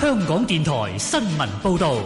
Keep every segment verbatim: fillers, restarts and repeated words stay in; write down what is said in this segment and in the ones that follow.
香港電台新聞報道。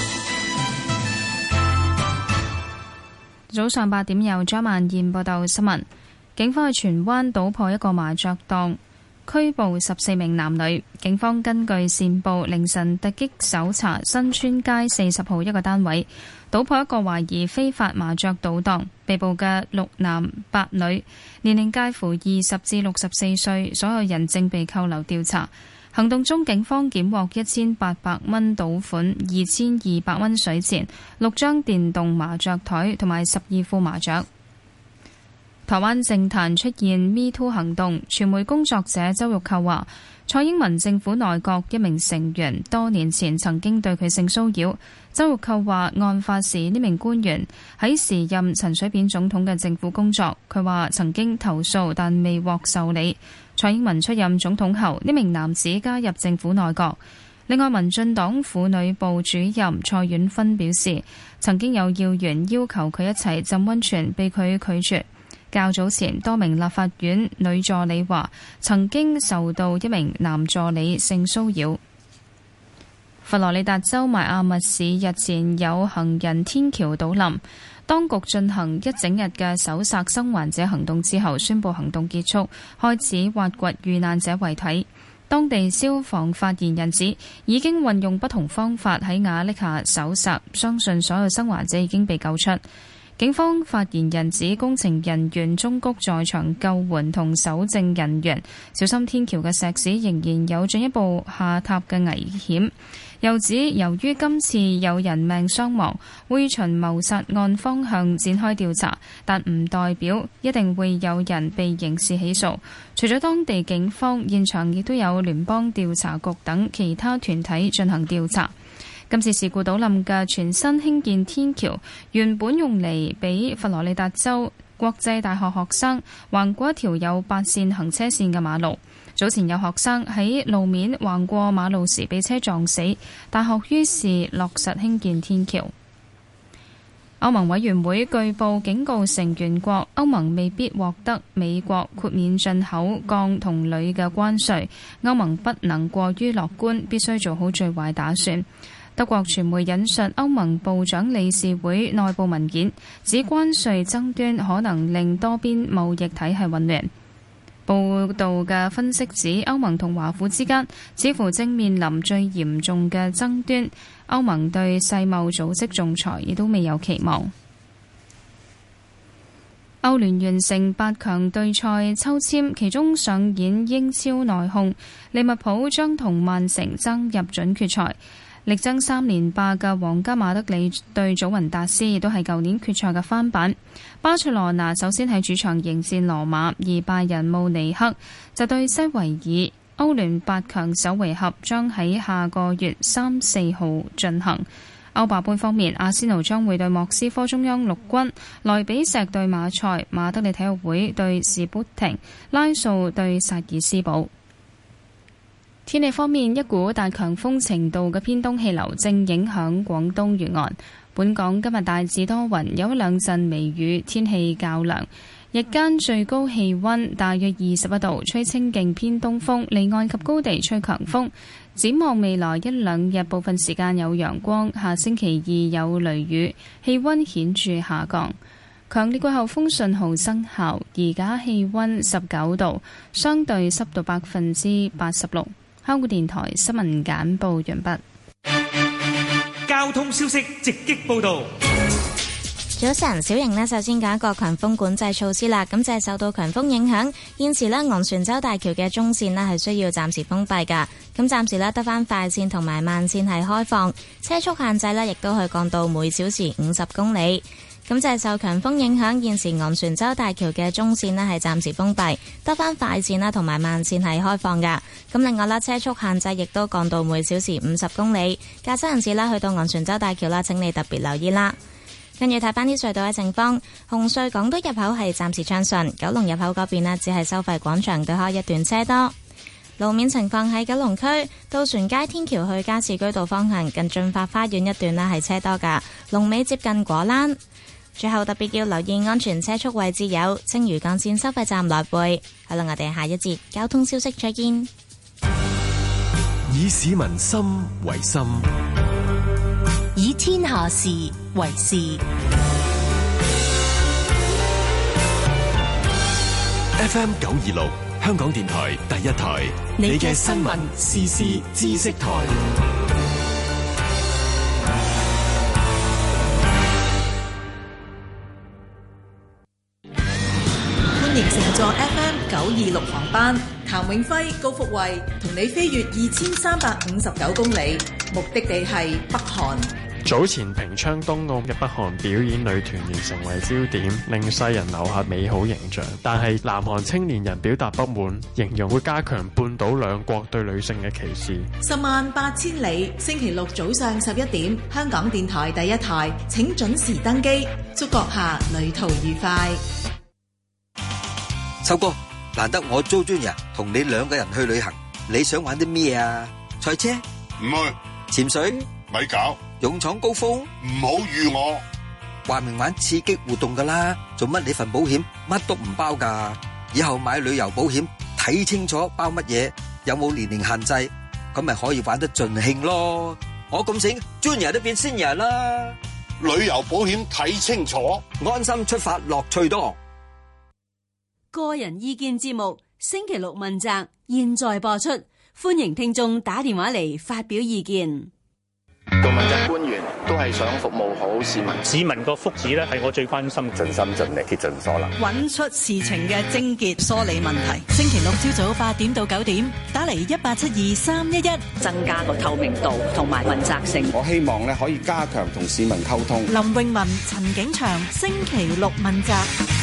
早上八點由張曼燕報道新聞。警方喺荃灣搗破一個麻雀檔，拘捕十四名男女。警方根據線報，凌晨突擊搜查新村街四十號一個單位，搗破一個懷疑非法麻雀賭檔。被捕嘅六男八女，年齡介乎二十至六十四歲，所有人正被扣留調查。行動中，警方檢獲一千八百蚊賭款、二千二百蚊水錢、六張電動麻雀台同埋十二副麻雀。台灣政壇出現 Me Too 行動，傳媒工作者周玉蔻話，蔡英文政府內閣一名成員多年前曾經對佢性騷擾。周玉蔻話，案發時呢名官員喺時任陳水扁總統嘅政府工作，佢話曾經投訴但未獲受理。蔡英文出任總統後，呢名男子加入政府內閣。另外，民進黨婦女部主任蔡婉芬表示，曾經有要員要求佢一齊浸溫泉，被佢拒絕。較早前，多名立法院女助理話曾經受到一名男助理性騷擾。佛羅里達州邁阿密市日前有行人天橋倒冧，當局進行一整日嘅搜索生還者行動之後，宣布行動結束，開始挖掘遇難者遺體。當地消防發言人指，已經運用不同方法喺瓦礫下搜索，相信所有生還者已經被救出。警方發言人指，工程人員中谷在場救援同搜證人員小心天橋嘅石屎仍然有進一步下塌嘅危險。又指，由於今次有人命傷亡，會循謀殺案方向展開調查，但唔代表一定會有人被刑事起訴。除咗當地警方，現場亦都有聯邦調查局等其他團體進行調查。今次事故倒冧嘅全新興建天橋，原本用嚟俾佛羅里達州國際大學學生橫過一條有八線行車線嘅馬路。早前有學生喺路面橫過馬路時被車撞死，大學於是落實興建天橋。歐盟委員會據報警告成員國，歐盟未必獲得美國豁免進口鋼同鋁嘅關稅，歐盟不能過於樂觀，必須做好最壞打算。德國傳媒引述歐盟部長理事會內部文件，指關稅爭端可能令多邊貿易體系混亂。報道嘅分析指，歐盟同華府之間似乎正面臨最嚴重嘅爭端，歐盟對世貿組織仲裁亦都未有期望。歐聯完成八強對賽抽籤，其中上演英超內訌，利物浦將同曼城爭入準決賽。力爭三連霸嘅皇家馬德里對祖雲達斯亦都係舊年決賽嘅翻版。巴塞羅那首先喺主場迎戰羅馬，而拜仁慕尼黑就對西維爾。歐聯八強首回合將喺下個月三四號進行。歐霸盃方面，阿仙奴將會對莫斯科中央陸軍，萊比錫對馬賽，馬德里體育會對士砵亭，拉素對薩爾斯堡。天氣方面，一股達強風程度嘅偏東氣流正影響廣東沿岸。本港今日大致多雲，有一兩陣微雨，天氣較涼。日間最高氣溫大約二十一度，吹清勁偏東風，離岸及高地吹強風。展望未來一兩日，部分時間有陽光，下星期二有雷雨，氣溫顯著下降。強烈季候風信號生效，而家氣溫十九度，相對濕度百分之八十六。香港電台新聞簡報完畢。 交通消息直擊報道。 早晨，小瑩呢，首先講一個強風管制措施啦。咁就係受到強風影響，現時呢，昂船洲大橋嘅中線呢係需要暫時封閉噶。咁暫時呢，得返快線同埋慢線係開放，車速限制呢亦都係降到每小時五十公里。咁就係受強風影響，現時昂船洲大橋嘅中線呢係暫時封閉，得返快線啦同埋慢線係開放噶。咁另外啦，車速限制亦都降到每小時五十公里。駕駛人士啦，去到昂船洲大橋啦，請你特別留意啦。跟住睇翻啲隧道嘅情況，紅隧港島入口係暫時暢順，九龍入口嗰邊呢只係收費廣場對開一段車多。路面情況喺九龍區渡船街天橋去加士居道方向，近駿發花園一段呢係車多噶，龍尾接近果欄。最後特別要留意安全車速位置有青嶼幹線收費站來回。好啦，我哋下一節交通消息再見。 以市民心為心， 以天下事為事。 F M 九二六，香港電台第一台，你嘅新聞時事知識台。 歡迎乘坐 F M 九二六航班，譚永輝、高福慧同你飛越二千三百五十九公里，目的地係北韓。 早前平昌冬奧嘅北韓表演女團員成為焦點，令世人留下美好形象。但係南韓青年人表達不滿，形容會加強半島兩國對女性嘅歧視。 十萬八千里，星期六早上十一點，香港電台第一台，請準時登機。祝閣下旅途愉快。 秋哥，難得我租專人同你兩個人去旅行，你想玩啲咩啊？賽車？ 唔去。 潛水？ 咪搞。 勇闖高峰？ 唔好預我。 話明玩刺激活動噶啦，做乜你份保險乜都唔包噶？以後買旅遊保險睇清楚包乜嘢，有冇年齡限制，咁咪可以玩得盡興咯。我咁醒，專人都變仙人啦。 旅遊保險睇清楚， 安心出發，樂趣多。 個人意見節目星期六問責，現在播出，歡迎聽眾打電話嚟發表意見。 做問責官員都係想服務好市民， 市民個福祉咧係我最關心， 盡心盡力竭盡所能， 揾出事情嘅症結，梳理問題。 星期六朝早八點到九點，打嚟一八七二三一一， 增加個透明度同埋問責性。 我希望咧可以加強同市民溝通。 林詠雯、陳景祥，星期六問責。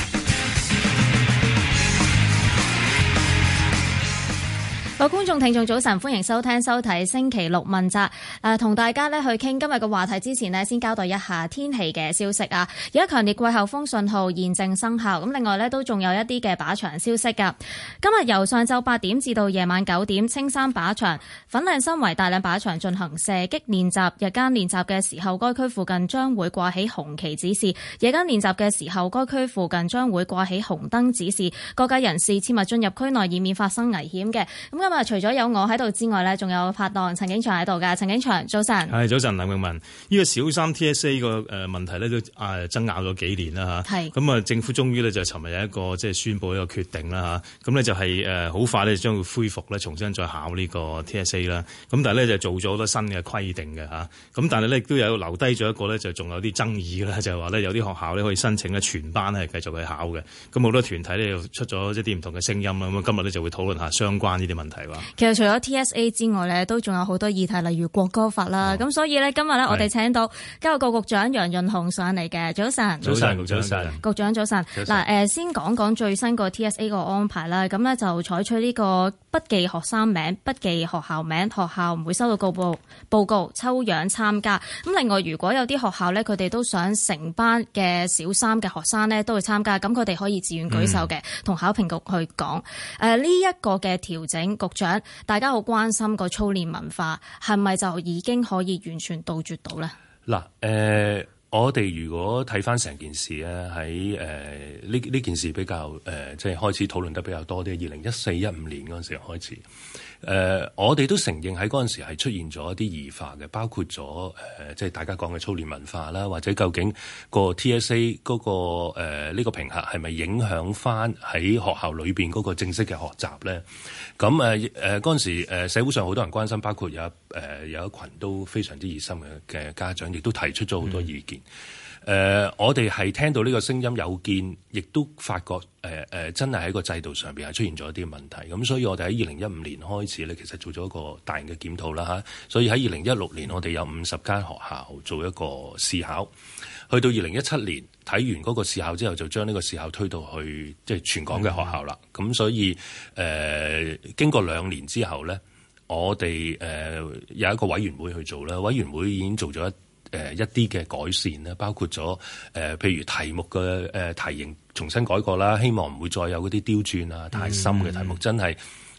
各位觀眾聽眾早晨，歡迎收聽收睇星期六問責。誒、呃，同大家咧去傾今日嘅話題之前呢，先交代一下天氣嘅消息啊。而家強烈季候風信號現正生效，咁另外呢，都仲有一啲嘅靶場消息噶。今日由上晝八點至到夜晚九點，青山靶場、粉嶺新圍大嶺靶場進行射擊練習。日間練習嘅時候，該區附近將會掛起紅旗指示；夜間練習嘅時候，該區附近將會掛起紅燈指示。各界人士切勿進入區內，以免發生危險嘅。咁咁啊！除咗有我喺度之外咧，仲有拍檔陳景祥喺度㗎。陳景祥，早晨。 係早晨，林詠雯。呢個小三 T S A 個誒問題咧都啊爭拗咗幾年啦嚇。係。咁啊，政府終於咧就尋日有一個即係宣佈一個決定啦嚇。咁咧就係誒好快咧將會恢復咧重新再考呢個 T S A 啦。咁但係咧就做咗好多新嘅規定嘅嚇。咁但係咧亦都有留低咗一個咧就仲有啲爭議啦，就係話咧有啲學校咧可以申請咧全班係繼續去考嘅。咁好多團體咧又出咗一啲唔同嘅聲音啦。咁今日咧就會討論下相關呢啲問題喎。 其實除咗 T S A 之外咧，都仲有好多議題，例如國歌法啦。咁、哦、所以咧，今日咧我哋請到教育局局長楊潤雄上嚟嘅。早晨， 早晨，局長， 局長早晨。嗱，誒，先講講最新個 T S A 個安排啦。咁咧就採取呢個不記學生名、不記學校名，學校唔會收到告報報告，抽樣參加。咁另外，如果有啲學校咧，佢哋都想成班嘅小三嘅學生咧都會參加，咁佢哋可以自願舉手嘅，同、嗯、考評局去講。誒，呢一個嘅調整，局長。大家好關心個操練文化係咪就已經可以完全杜絕到咧？ 嗱，誒、呃，我哋如果睇翻成件事咧，喺誒呢呢件事比較誒，即、呃、係、就是、開始討論得比較多啲。二零一四一五年嗰陣時候開始，誒、呃，我哋都承認喺嗰陣時係出現咗一啲異化嘅，包括咗誒，即、呃、係、就是、大家講嘅操練文化啦，或者究竟個 T S A 嗰、那個誒呢、呃這個評核係咪影響翻喺學校裏邊嗰個正式嘅學習咧？咁誒誒嗰陣時誒社會上好多人關心，包括有誒、呃、有一群都非常之熱心嘅嘅家長，亦都提出咗好多意見。誒、嗯呃，我哋係聽到呢個聲音有見，亦都發覺誒誒、呃、真係喺個制度上邊係出現咗一啲問題。咁所以我哋喺二零一五年開始咧，其實做咗一個大型嘅檢討啦嚇。所以喺二零一六年，我哋有五十間學校做一個試考。去到二零一七年睇完嗰個試考之後，就將呢個試考推到去即係全港嘅學校啦。咁、嗯、所以誒、呃、經過兩年之後咧，我哋誒、呃、有一個委員會去做啦。委員會已經做咗一誒、呃、一啲嘅改善啦，包括咗誒、呃、譬如題目嘅誒、呃、題型重新改過啦，希望唔會再有嗰啲刁鑽啊、太深嘅題目，嗯、真係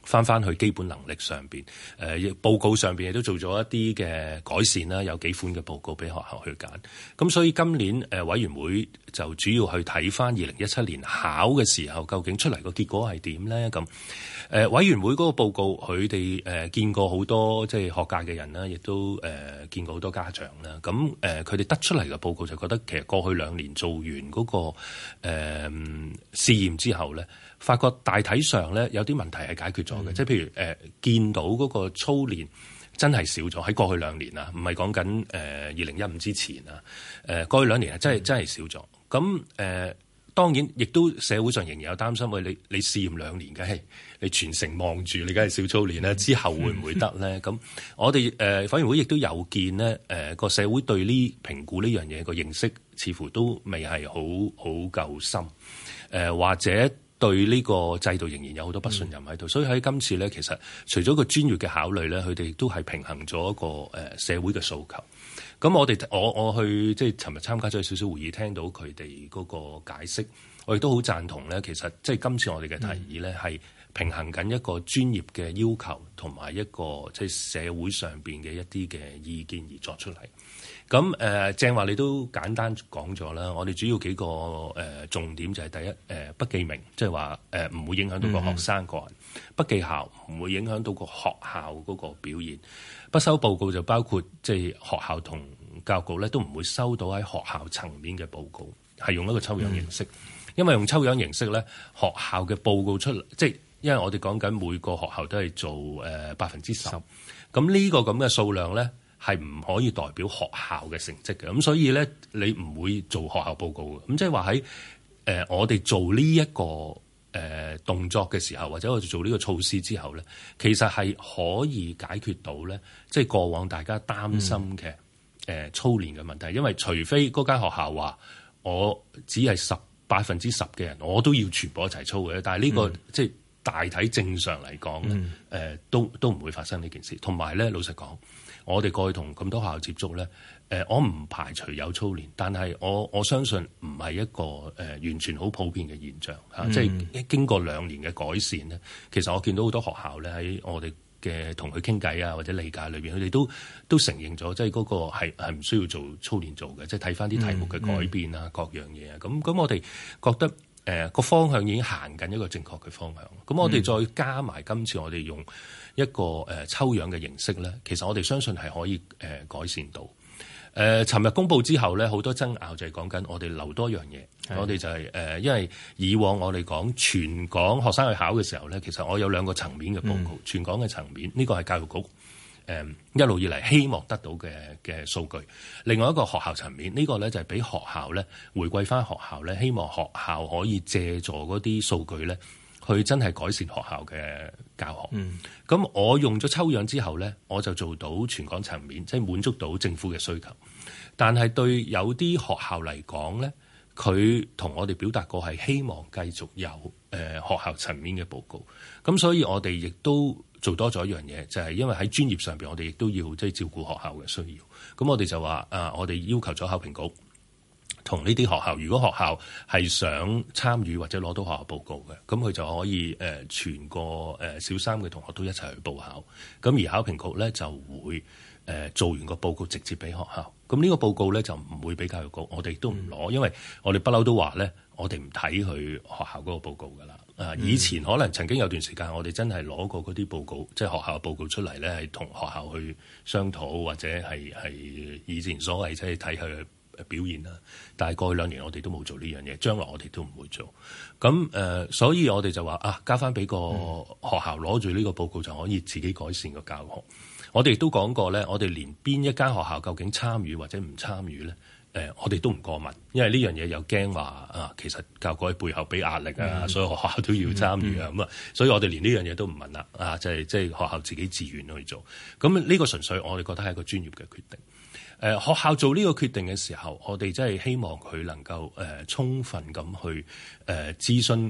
翻翻去基本能力上邊，誒、呃、報告上邊亦都做咗一啲嘅改善啦，有幾款嘅報告俾學校去揀。咁所以今年誒、呃、委員會就主要去睇翻二零一七年考嘅時候，究竟出嚟個結果係點咧？咁誒、呃、委員會嗰個報告，佢哋誒見過好多即係學界嘅人啦，亦都誒、呃、見過好多家長啦。咁誒佢哋得出嚟嘅報告就覺得，其實過去兩年做完嗰、那個誒、呃、試驗之後咧，發覺大體上咧有啲問題係解決咗嘅，即係、嗯、譬如誒、呃、見到嗰個操練真係少咗喺過去兩年啊，唔係講緊誒二零一五之前啊，誒、呃、過去兩年係真係、嗯、真係少咗。咁誒、呃、當然亦都社會上仍然有擔心，喂，你你試驗兩年，梗係你全程望住，你梗係少操練咧，之後會唔會得咧？咁、嗯、我哋誒委員會亦都有見咧，誒、呃、個社會對呢評估呢樣嘢個認識似乎都未係好好夠深，誒、呃、或者對呢個制度仍然有好多不信任喺度，嗯、所以喺今次咧，其實除咗個專業嘅考慮咧，佢哋亦都係平衡咗一個誒、呃、社會嘅訴求。咁我哋我我去即係尋日參加咗少少會議，聽到佢哋嗰個解釋，我亦都好贊同咧。其實即係今次我哋嘅提議咧，係、嗯、平衡緊一個專業嘅要求同埋一個即係社會上邊嘅一啲嘅意見而作出嚟。咁誒、呃、正話你都簡單講咗啦，我哋主要幾個誒、呃、重點就係第一誒、呃、不記名，即係話誒唔會影響到個學生個人；嗯、不記校唔會影響到個學校嗰個表現；不收報告就包括即係學校同教育局咧都唔會收到喺學校層面嘅報告，係用一個抽樣形式，嗯、因為用抽樣形式咧，學校嘅報告出嚟，即係因為我哋講緊每個學校都係做誒百分之十，咁呢個咁嘅數量咧，係唔可以代表學校嘅成績嘅，咁所以咧你唔會做學校報告嘅，咁即係話喺誒我哋做呢、這、一個誒、呃、動作嘅時候，或者我哋做呢個措施之後咧，其實係可以解決到咧，即係過往大家擔心嘅誒、嗯呃、操練嘅問題，因為除非嗰間學校話我只係十百分之十嘅人，我都要全部一齊操嘅，但係呢、這個、嗯、即係大體正常嚟講咧，誒、嗯呃、都都唔會發生呢件事，同埋咧老實講。我哋過去同咁多學校接觸咧，誒、呃，我唔排除有操練，但係我我相信唔係一個誒、呃、完全好普遍嘅現象嚇，嗯、即係經過兩年嘅改善咧，其實我見到好多學校咧喺我哋嘅同佢傾偈啊或者理解裏邊，佢哋都都承認咗，即係嗰個係係唔需要做操練做嘅，即係睇翻啲題目嘅改變啊、嗯嗯、各樣嘢啊，咁咁我哋覺得誒個、呃、方向已經行緊一個正確嘅方向，咁我哋再加埋今次我哋用一個誒、呃、抽樣嘅形式咧，其實我哋相信係可以誒、呃、改善到。誒、呃，尋日公佈之後咧，好多爭拗就係講緊我哋留多樣嘢。的我哋就係、是、誒、呃，因為以往我哋講全港學生去考嘅時候咧，其實我有兩個層面嘅報告。嗯、全港嘅層面呢、這個係教育局誒、呃、一路以嚟希望得到嘅嘅數據。另外一個學校層面，呢、這個咧就係俾學校咧回歸翻學校咧，希望學校可以借助嗰啲數據咧。佢真係改善學校嘅教學。咁、嗯、我用咗抽樣之後咧，我就做到全港層面，即係滿足到政府嘅需求。但係對有啲學校嚟講咧，佢同我哋表達過係希望繼續有誒、呃、學校層面嘅報告。咁所以我哋亦都做多咗一樣嘢，就係、是、因為喺專業上邊，我哋亦都要即係照顧學校嘅需要。咁我哋就話啊，我哋要求咗考評局。同呢啲學校，如果學校係想參與或者攞到學校報告嘅，咁佢就可以誒、呃、全個誒、呃、小三嘅同學都一齊去報考。咁而考評局咧就會誒、呃、做完個報告直接俾學校。咁呢個報告咧就唔會俾教育局，我哋都唔攞，嗯、因為我哋不嬲都話咧，我哋唔睇佢學校嗰個報告噶啦。啊，以前可能曾經有段時間，我哋真係攞過嗰啲報告，即係學校報告出嚟咧，係同學校去商討，或者係係以前所謂即係睇佢表現啦，但係過去兩年我哋都冇做呢樣嘢，將來我哋都唔會做。咁誒、呃，所以我哋就話啊，交翻俾個學校攞住呢個報告就可以自己改善個教學。我哋亦都講過咧，我哋連邊一間學校究竟參與或者唔參與咧，誒、呃，我哋都唔過問，因為呢樣嘢又驚話啊，其實教育局喺背後俾壓力啊，嗯、所有學校都要參與啊，咁啊、嗯，嗯、所以我哋連呢樣嘢都唔問啦，啊，就係即係學校自己自願去做。咁呢個純粹我哋覺得係一個專業嘅決定。誒、呃、學校做呢個決定嘅時候，我哋真係希望佢能夠誒、呃、充分咁去誒、呃、諮詢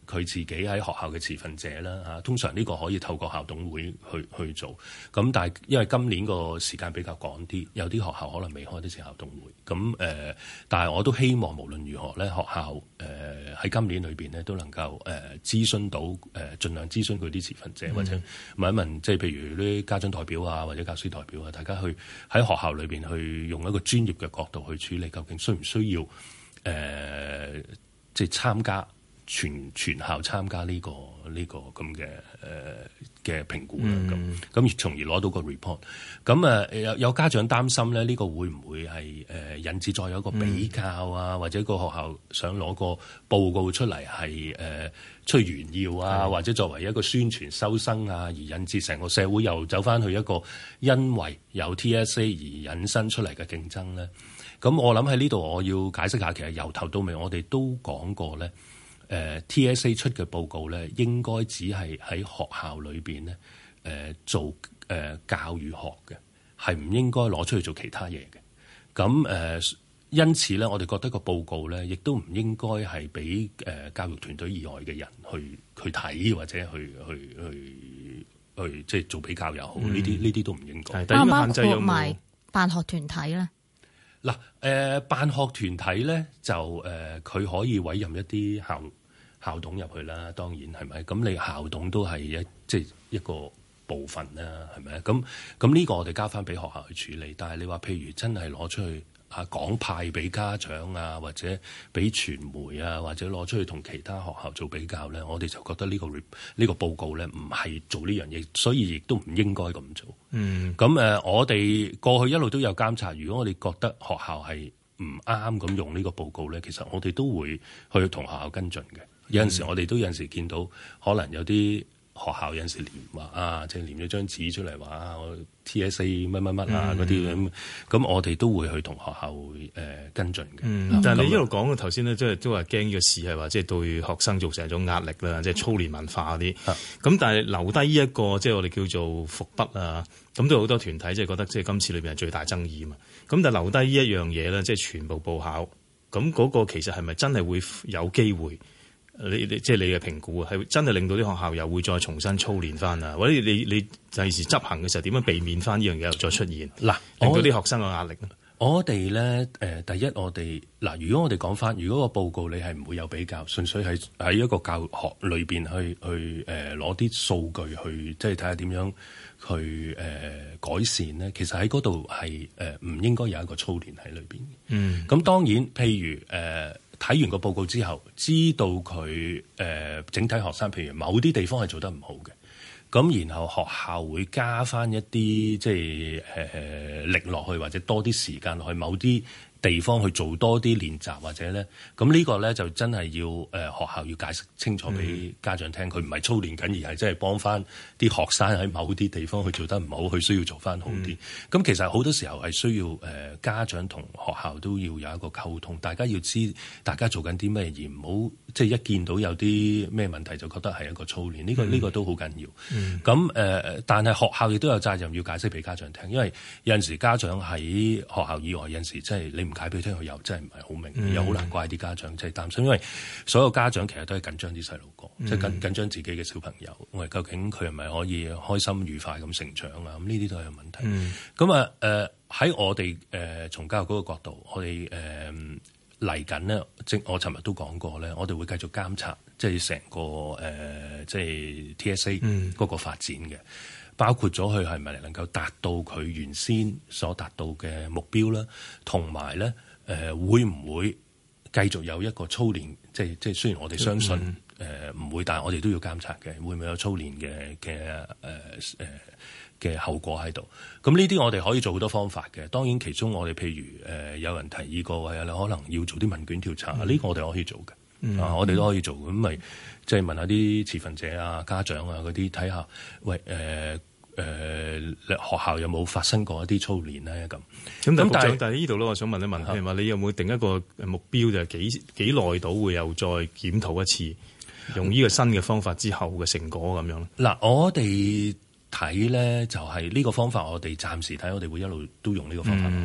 佢自己喺學校嘅持份者啦嚇，通常呢個可以透過校董會去去做。咁但係因為今年個時間比較趕啲，有啲學校可能未開得成校董會。咁誒、呃，但係我都希望無論如何咧，學校誒喺、呃、今年裏邊咧都能夠誒、呃、諮詢到誒，盡量諮詢佢啲持份者，嗯、或者問一問，即係譬如啲家長代表啊，或者教師代表啊，大家去喺學校裏邊去用一個專業嘅角度去處理，究竟需唔需要誒、呃、即係參加全全校參加呢、這個呢、這個咁嘅誒嘅評估啦，咁咁從而攞到個 report。咁啊有有家長擔心咧，呢、這個會唔會係誒、呃、引致再有一個比較啊，嗯、或者個學校想攞個報告出嚟係誒出炫耀啊，或者作為一個宣傳收生啊，而引致成個社會又走翻去一個因為有 T S A 而引申出嚟嘅競爭咧？咁我諗喺呢度我要解釋下，其實由頭到尾我哋都講過咧。誒、呃、T S A 出嘅報告咧，應該只係喺學校裏邊咧誒做誒、呃、教育學嘅，係唔應該攞出去做其他嘢嘅。咁誒、呃，因此咧，我哋覺得個報告咧，亦都唔應該係俾誒教育團隊以外嘅人去去睇或者去去去去即係做比較又好，呢啲呢啲都唔應該。 包唔包埋辦學團體咧？ 嗱誒、呃，辦學團體咧就誒，佢、呃、可以委任一啲校校董入去啦，當然係咪？咁你校董都係一即係一個部分啦，係咪？咁咁呢個我哋交翻俾學校去處理。但係你話譬如真係攞出去啊講派俾家長啊，或者俾傳媒啊，或者攞出去同其他學校做比較咧，我哋就覺得呢、呢個呢、呢個報告咧唔係做呢樣嘢，所以亦都唔應該咁做。嗯，咁誒、呃，我哋過去一路都有監察，如果我哋覺得學校係唔啱咁用呢個報告咧，其實我哋都會去同學校跟進嘅。有陣時我哋都有陣時見到，可能有啲學校有陣時連話啊，即係連咗張紙出嚟話啊，我 T S A 乜乜乜啊嗰啲咁，咁我哋都會去同學校誒、呃、跟進嘅。嗯、 但係你一路講嘅頭先咧，即係都話驚呢個事係話即係對學生造成一種壓力啦，即係操練文化嗰啲。咁、嗯、但係留低呢一個即係我哋叫做伏筆啊，咁都有好多團體即係覺得即係今次裏邊係最大爭議嘛。咁但係留低呢一樣嘢咧，即係全部報考，咁嗰個其實係咪真係會有機會？你你即係你嘅評估啊，係真係令到啲學校又會再重新操練翻啊，或者你你第時執行嘅時候點樣避免翻呢樣嘢又再出現？嗱，令到啲學生嘅壓力咧。 我哋咧誒，第一我哋嗱，如果我哋講翻，如果個報告你係唔會有比較，純粹係喺一個教學裏邊去去誒攞啲數據去，即係睇下點樣去誒、呃、改善咧。其實喺嗰度係誒唔應該有一個操練喺裏邊。嗯，咁當然，譬如誒。呃睇完個報告之後，知道佢誒、呃、整體學生，譬如某啲地方係做得唔好嘅，咁然後學校會加返一啲即係誒、呃、力落去，或者多啲時間落去某啲地方去做多啲練習，或者咧，咁呢個咧就真係要誒、呃、學校要解釋清楚俾家長聽，佢唔係操練緊，而係真係幫翻啲學生喺某啲地方去做得唔好，佢需要做翻好啲。咁、嗯、其實好多時候係需要誒、呃、家長同學校都要有一個溝通，大家要知大家做緊啲咩，而唔好即係一見到有啲咩問題就覺得係一個操練。呢、這個呢、這個都好緊要。咁、嗯、誒、呃，但係學校亦都有責任要解釋俾家長聽，因為有陣時家長喺學校以外，有陣時即係你唔解俾佢聽，佢又真係唔係好明，嗯、又好難怪啲家長即係擔心，因為所有家長其實都係緊張啲細路哥，即係緊緊張自己嘅小朋友，我哋究竟佢係咪可以開心愉快咁成長啊？咁呢啲都係有問題。咁啊誒喺我哋誒、呃、從教育嗰個角度，我哋誒嚟緊呢，即我尋日都講過咧，我哋會繼續監察，即係成個誒、呃、即係 T S A 嗰個發展嘅。嗯包括咗佢係咪能夠達到佢原先所達到嘅目標啦，同埋咧誒會唔會繼續有一個操練？即係即係雖然我哋相信誒唔、嗯呃、會，但係我哋都要監察嘅，會唔會有操練嘅嘅誒誒嘅後果喺度？咁呢啲我哋可以做好多方法嘅。當然其中我哋譬如誒、呃、有人提議過係你可能要做啲問卷調查，呢、嗯、個我哋可以做嘅。嗯、啊！我哋都可以做，咁咪即係問下啲持份者啊、家長啊嗰啲，睇下喂誒誒、呃呃、學校有冇發生過一啲操練咧？咁咁但係但係呢度咧，我想問一問，譬如話你有冇定一個目標，就係幾幾耐到會又再檢討一次，用呢個新嘅方法之後嘅成果咁樣咧？ 嗱、嗯，我哋睇咧就係、是、呢個方法，我哋暫時睇，我哋會一路都用呢個方法落去。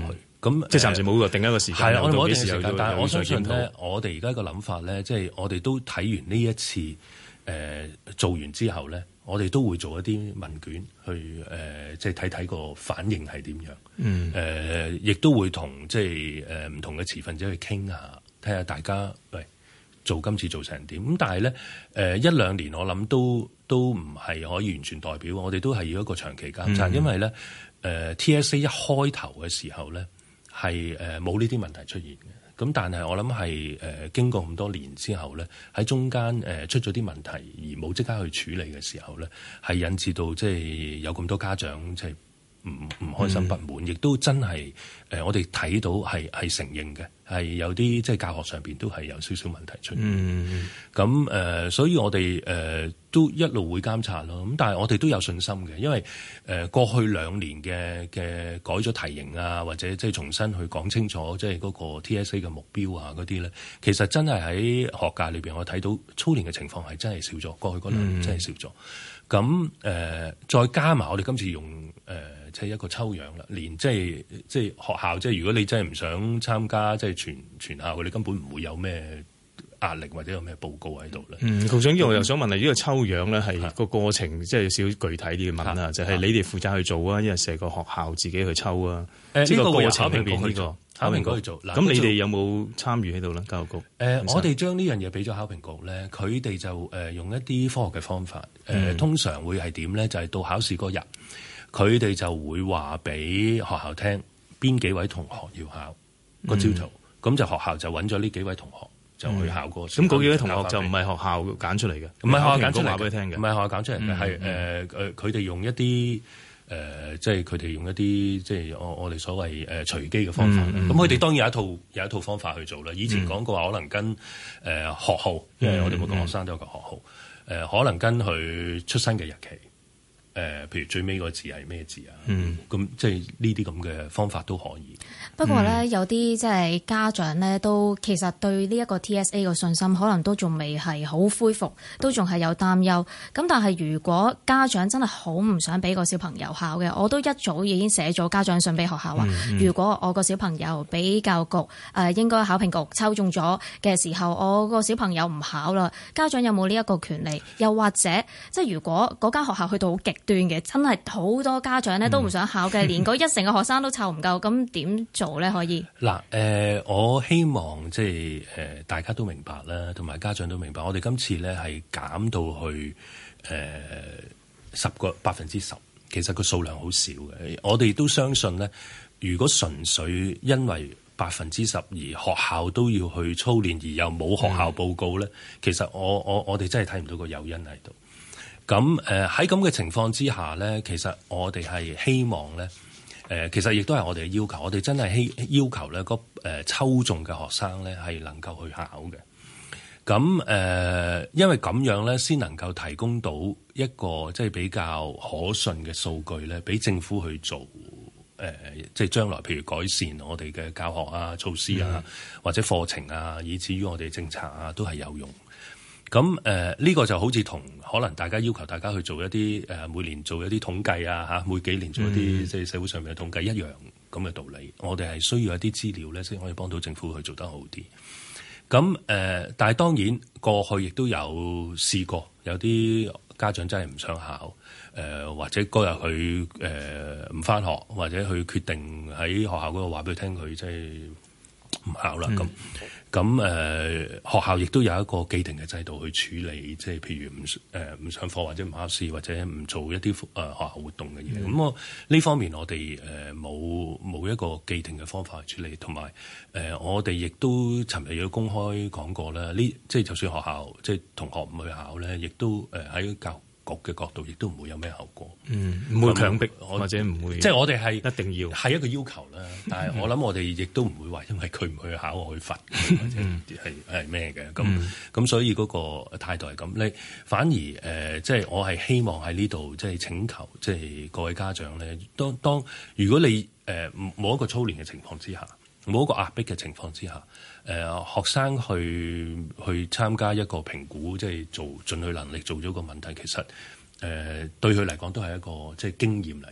咁即係暫時冇個定一個時間。 係啦，我哋冇定時時間，但係我相信咧，我哋而家個諗法咧，即係我哋都睇完呢一次誒、呃、做完之後咧，我哋都會做一啲問卷去誒、呃，即係睇睇個反應係點樣。嗯。誒、呃，亦都會同即係誒唔同嘅持份者去傾下，睇下大家喂做今次做成點。咁但係咧誒一兩年我諗都都唔係可以完全代表，我哋都係要一個長期監察，嗯、因為咧誒、呃、T S A 一開頭嘅時候咧。係誒冇呢啲問題出現嘅，咁但係我諗係誒經過咁多年之後咧，喺中間誒、呃、出咗啲問題而冇即刻去處理嘅時候咧，係引致到即係有咁多家長即係唔唔開心不滿，亦、嗯、都真係誒、呃、我哋睇到係係承認嘅，係有啲即係教學上邊都係有少少問題出現。咁誒、嗯呃，所以我哋誒、呃、都一路會監察咯。咁但係我哋都有信心嘅，因為誒、呃、過去兩年嘅嘅改咗題型啊，或者即係重新去講清楚即係嗰個 T S A 嘅目標啊嗰啲咧，其實真係喺學界裏邊我睇到操練嘅情況係真係少咗，過去嗰兩年真係少咗。咁誒、呃、再加埋我哋今次用誒。呃即係一個抽樣啦，連即係即係學校，即係如果你真係唔想參加，即係全全校，你根本唔會有咩壓力或者有咩報告喺度咧。嗯，局長，呢個我又想問下，呢個抽樣咧係個過程，即係有少少具體啲嘅問啊，就係、是、你哋負責去做啊，因為成個學校自己去抽啊。誒，呢個過程裏邊呢個考評局去做。咁你哋有冇參與喺度咧？教育局？誒、呃，我哋將呢樣嘢俾咗考評局咧，佢哋就誒用一啲科學嘅方法。誒、呃，嗯、通常會係點咧？就係、是、到考試嗰日。佢哋就會話俾學校聽邊幾位同學要考個朝圖，咁、嗯、就學校就揾咗呢幾位同學就去考個。咁嗰、嗯、幾位同學就唔係學校揀出嚟嘅，唔係學校揀出嚟話俾你聽嘅，唔係學校揀出嚟嘅，係誒誒佢哋用一啲誒、呃，即係佢哋用一啲即係我我哋所謂誒隨機嘅方法。咁佢哋當然有一套有一套方法去做啦。以前講過話可能跟誒、呃、學號，因為我哋每個學生都有個學號，誒、呃、可能跟佢出生嘅日期。誒、呃，譬如最尾個字係咩字啊？嗯，咁即係呢啲咁嘅方法都可以。 不過咧，嗯、有啲即係家長咧，都其實對呢一個 T S A 嘅信心，可能都仲未係好恢復，都仲係有擔憂。咁但係如果家長真係好唔想俾個小朋友考嘅，我都一早已經寫咗家長信俾學校話，嗯嗯、如果我個小朋友俾教育局誒、呃、應該考評局抽中咗嘅時候，我個小朋友唔考啦，家長有冇呢一個權利？又或者即係如果嗰間學校去到好極端嘅，真係好多家長咧都唔想考嘅，嗯、連嗰一成嘅學生都湊唔夠，咁點做咧？可以嗱，誒、呃，我希望即係誒，大家都明白啦，同埋家長都明白，我哋今次咧係減到去誒十個百分之十，其實個數量好少嘅。我哋都相信咧，如果純粹因為百分之十而學校都要去操練，而又冇學校報告咧，嗯、其實我我我哋真係睇唔到個誘因喺度。咁誒喺咁嘅情況之下咧，其實我哋係希望咧，誒、呃、其實亦都係我哋嘅要求，我哋真係希要求咧，個、呃、誒抽中嘅學生咧係能夠去考嘅。咁誒、呃，因為咁樣咧，先能夠提供到一個即係比較可信嘅數據咧，俾政府去做誒、呃，即係將來譬如改善我哋嘅教學啊、措施啊，嗯、或者課程啊，以至於我哋政策啊，都係有用。咁誒呢個就好似同可能大家要求大家去做一啲誒、呃、每年做一啲統計啊嚇，每幾年做一啲即係社會上面嘅統計一樣咁嘅道理。我哋係需要一啲資料咧，先可以幫到政府去做得好啲。咁誒、呃，但係當然過去亦都有試過，有啲家長真係唔想考，誒、呃、或者嗰日佢誒唔返學，或者佢決定喺學校嗰度話俾佢聽，佢即係唔考啦咁。嗯咁誒、呃、學校亦都有一個既定嘅制度去處理，即係譬如唔誒唔上課或者唔考試或者唔做一啲誒、呃、學校活動嘅嘢。咁、嗯、我呢方面我哋誒冇冇一個既定嘅方法去處理，同埋誒我哋亦都尋日有公開講過啦。呢即係就算學校即係同學唔去考咧，亦都誒喺教局嘅角度，亦都唔會有咩後果。嗯，唔會強迫我或者唔會，即係我哋係一定要係一個要求啦。但係我諗我哋亦都唔會話因為佢唔去考我去罰，或者係係咩嘅。咁咁、嗯、所以嗰個態度係咁。你反而誒、呃，即係我係希望喺呢度即係請求，即係各位家長咧，當當如果你誒冇、呃、一個操練嘅情況之下，冇一個壓迫嘅情況之下，誒、呃、學生去去參加一個評估，即係做盡佢能力做咗個問題，其實誒、呃、對佢嚟講都係一個即係經驗嚟嘅。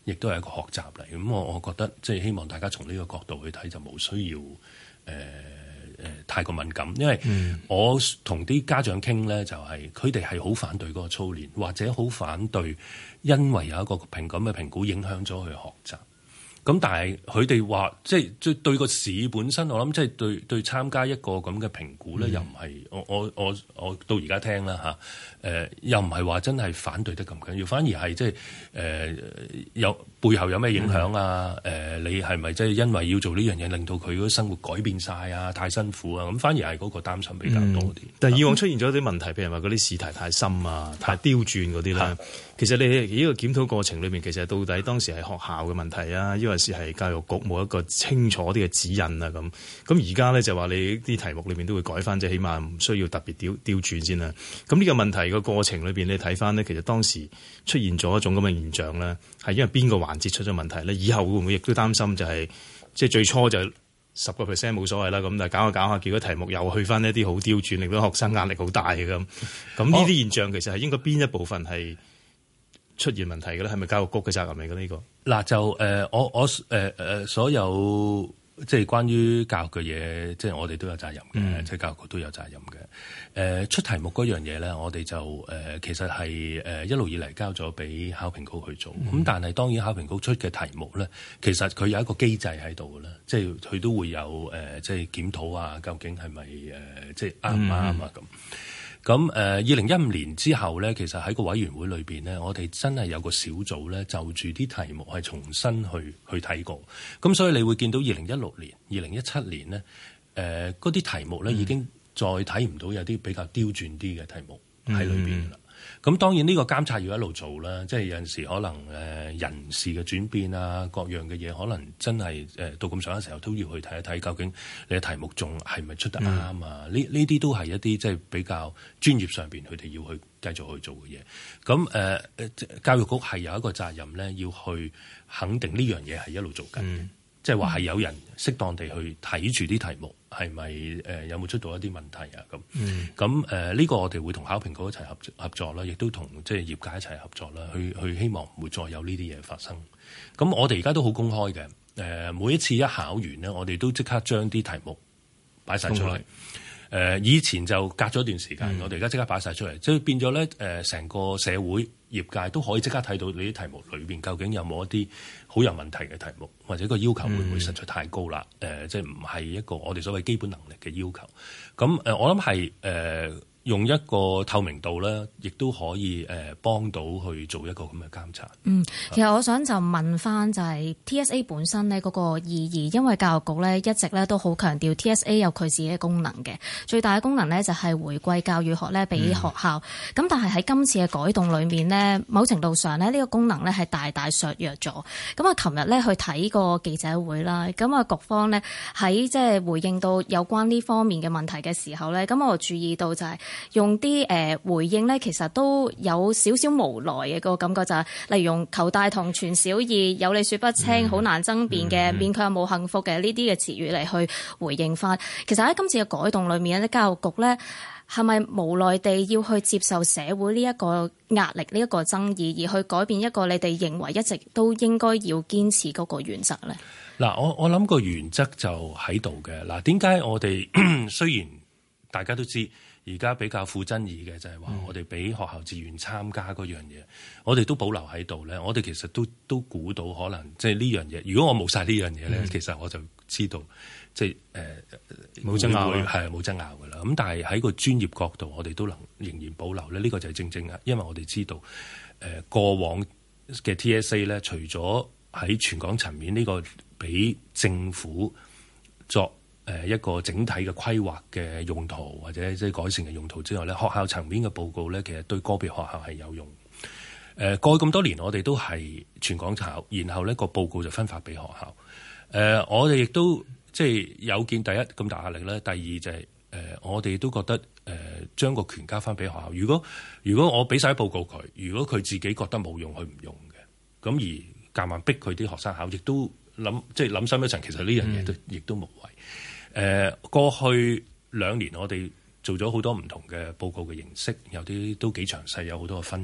亦都係一個學習嚟。咁我我覺得即係希望大家從呢個角度去睇，就冇需要誒誒、呃呃、太過敏感，因為我同啲家長傾咧，就係佢哋係好反對嗰個操練，或者好反對，因為有一個評咁嘅評估影響咗佢學習。咁但係佢哋話，即係對對個試本身，我諗即係對對參加一個咁嘅評估咧，嗯、又唔係我我我我到而家聽啦嚇，誒、呃、又唔係話真係反對得咁緊要，反而係即係誒有背後有咩影響啊？誒、嗯呃、你係咪即係因為要做呢樣嘢，令到佢嗰生活改變晒啊？太辛苦啊？咁反而係嗰個擔心比較多啲、嗯。但係以往出現咗啲問題，譬如話嗰啲試題太深啊、太刁鑽嗰啲咧，其實你呢個檢討過程裏面，其實到底當時係學校嘅問題啊，因為是係教育局冇一個清楚啲嘅指引啊，咁咁而家咧就話你啲題目裏面都會改翻，即係起碼唔需要特別刁刁鑽先啦。咁呢個問題嘅過程裏邊，你睇翻呢，其實當時出現咗一種咁嘅現象咧，係因為邊個環節出咗問題咧？以後會唔會亦都擔心就係、是、即係最初就十個 percent 冇所謂啦，咁但係搞下搞下，結果題目又去翻一啲好刁鑽，令到學生壓力好大嘅咁。咁呢啲現象其實係應該邊一部分係出現問題嘅咧？係咪教育局嘅責任嚟嘅呢個？ 嗱就誒、呃、我我誒誒、呃、所有即係關於教育嘅嘢，即係我哋都有責任嘅，嗯、即係教育局都有責任嘅。誒、呃、出題目嗰樣嘢咧，我哋就誒、呃、其實係誒、呃、一路以嚟交咗俾考評局去做。咁、嗯、但係當然考評局出嘅題目咧，其實佢有一個機制喺度嘅啦，即係佢都會有誒、呃、即係檢討啊，究竟係咪誒即係啱唔啱啊咁。咁誒，二零一五年之後咧，其實喺個委員會裏邊咧，我哋真係有個小組咧，就住啲題目係重新去去睇過。咁所以你會見到二零一六年、二零一七年咧，誒嗰啲題目咧已經再睇唔到有啲比較刁鑽啲嘅題目喺裏邊啦。咁、嗯、當然呢個監察要一路做啦，即係有陣時可能誒人事嘅轉變啊，各樣嘅嘢可能真係誒到咁上嘅時候都要去睇一睇，究竟你嘅題目仲係咪出得啱啊？呢呢啲都係一啲即係比較專業上邊佢哋要去繼續去做嘅嘢。咁誒、呃、教育局係有一個責任咧，要去肯定呢樣嘢係一路做緊嘅。嗯即係話係有人適當地去睇住啲題目，係咪誒有冇出到一啲問題啊？咁咁誒呢個我哋會同考評局一齊合合作啦，亦都同即係業界一齊合作啦，去去希望唔會再有呢啲嘢發生。咁我哋而家都好公開嘅，誒、呃、每一次一考完呢，我哋都即刻將啲題目擺晒出嚟。誒、呃、以前就隔咗一段時間，嗯、我哋而家即刻擺晒出嚟，即係變咗咧誒成個社會業界都可以即刻睇到你啲題目裏邊究竟有冇一啲好有問題嘅題目，或者個要求會唔會實在太高啦？誒、嗯呃，即係唔係一個我哋所謂基本能力嘅要求。咁誒、呃，我諗係誒用一個透明度咧，亦都可以誒、呃、幫到去做一個咁嘅監察。嗯， 其實我想就問翻就係 T S A 本身呢嗰個意義，因為教育局咧一直咧都好強調 T S A 有佢自己嘅功能嘅，最大嘅功能咧就係回歸教育學咧俾學校。咁、嗯、但係喺今次嘅改動裏面呢，某程度上咧呢個功能咧係大大削弱咗。咁啊，琴日咧去睇個記者會啦，咁啊局方呢喺即係回應到有關呢方面嘅問題嘅時候咧，咁我注意到就係用啲誒回應咧，其實都有少少無奈嘅個感覺，就係例如用求大同存小異，有理說不清，好、嗯、難爭辯嘅，勉強冇幸福嘅呢啲嘅詞語嚟去回應翻。其實喺今次嘅改動裏面咧，教育局咧係咪無奈地要去接受社會呢一個壓力、呢一個爭議，而去改變一個你哋認為一直都應該要堅持嗰個原則咧？ 嗱，我我諗個原則就喺度嘅。嗱，點解我哋雖然大家都知而家比較富爭議嘅就係話我哋俾學校自願參加嗰樣嘢，我哋都保留喺度咧。我哋其實都都估到可能即係呢樣嘢。如果我冇晒呢樣嘢咧，嗯、其實我就知道即係誒冇爭拗係冇爭拗噶啦。咁但係喺個專業角度，我哋都能仍然保留咧。呢、呢個就係正正啊，因為我哋知道誒、呃、過往嘅 T S A 咧，除咗喺全港層面呢個俾政府作誒一個整體嘅規劃嘅用途或者即係改善嘅用途之外咧，學校層面嘅報告咧，其實對個別學校係有用。誒過去咁多年，我哋都係全港考，然後呢個報告就分發俾學校。誒我哋亦都即係有見第一咁大壓力咧，第二就係誒我哋都覺得誒將個權交翻俾學校。如果如果我俾晒報告佢，如果佢自己覺得冇用，佢唔用嘅，咁而夾硬逼佢啲學生考，亦都諗即係諗深一層，其實呢樣嘢都亦都無謂。誒、呃、過去兩年我哋做咗好多唔同嘅報告嘅形式，有啲都幾詳細，有好多嘅分析。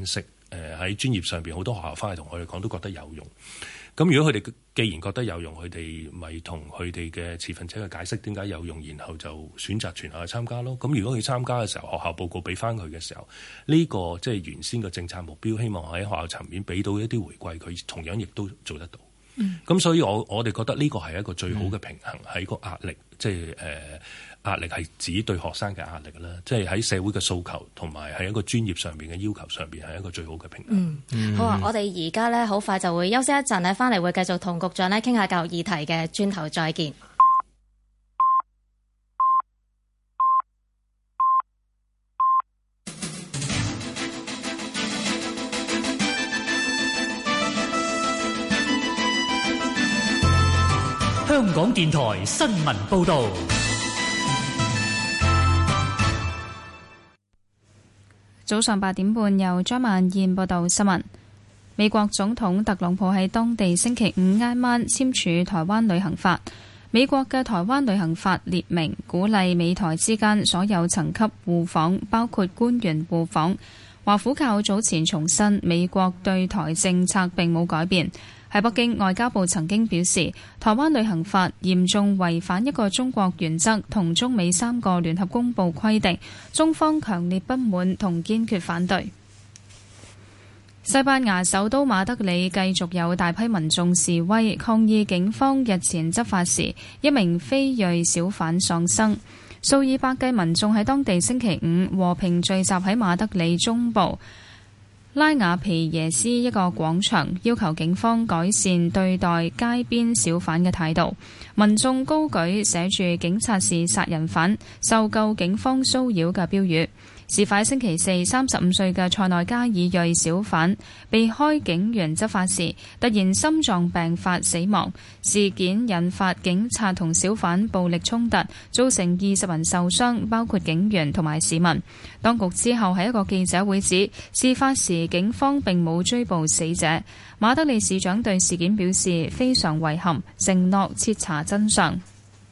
誒喺專業上邊好多學校翻嚟同我哋講都覺得有用。咁如果佢哋既然覺得有用，佢哋咪同佢哋嘅持份者去解釋點解有用，然後就選擇全校去參加咯。咁如果佢參加嘅時候，學校報告俾翻佢嘅時候，呢、這個即係原先嘅政策目標，希望喺學校層面俾到一啲回饋，佢同樣亦都做得到。咁、嗯、所以我我哋覺得呢個係一個最好嘅平衡，喺、嗯、個壓力，即係誒壓力係指對學生嘅壓力啦，即係喺社會嘅訴求同埋喺一個專業上邊嘅要求上邊係一個最好嘅平衡。 嗯，嗯好啊，我哋而家咧好快就會休息一陣咧，翻嚟會繼續同局長咧傾下教育議題嘅，轉頭再見。 香港電台新聞報導。 早上八點半，由張曼燕報道新聞。美國總統特朗普喺當地星期五挨晚簽署台灣旅行法。美國嘅台灣旅行法列明，鼓勵美台之間所有層級互訪，包括官員互訪。華府較早前重申，美國對台政策並冇改變。喺北京，外交部曾經表示，台灣旅行法嚴重違反一個中國原則同中美三個聯合公報規定，中方強烈不滿同堅決反對。西班牙首都馬德里繼續有大批民眾示威，抗議警方日前執法時，一名非裔小販喪生。數以百計民眾喺當地星期五和平聚集喺馬德里中部拉瓦皮耶斯一個廣場，要求警方改善對待街邊小販嘅態度。民眾高舉寫住警察是殺人犯、受夠警方騷擾嘅標語。事發星期四，三十五歲嘅塞內加爾裔小販被開警員執法時，突然心臟病發死亡。事件引發警察同小販暴力衝突，造成二十人受傷，包括警員同埋市民。當局之後喺一個記者會指，事發時警方並冇追捕死者。馬德里市長對事件表示非常遺憾，承諾徹查真相。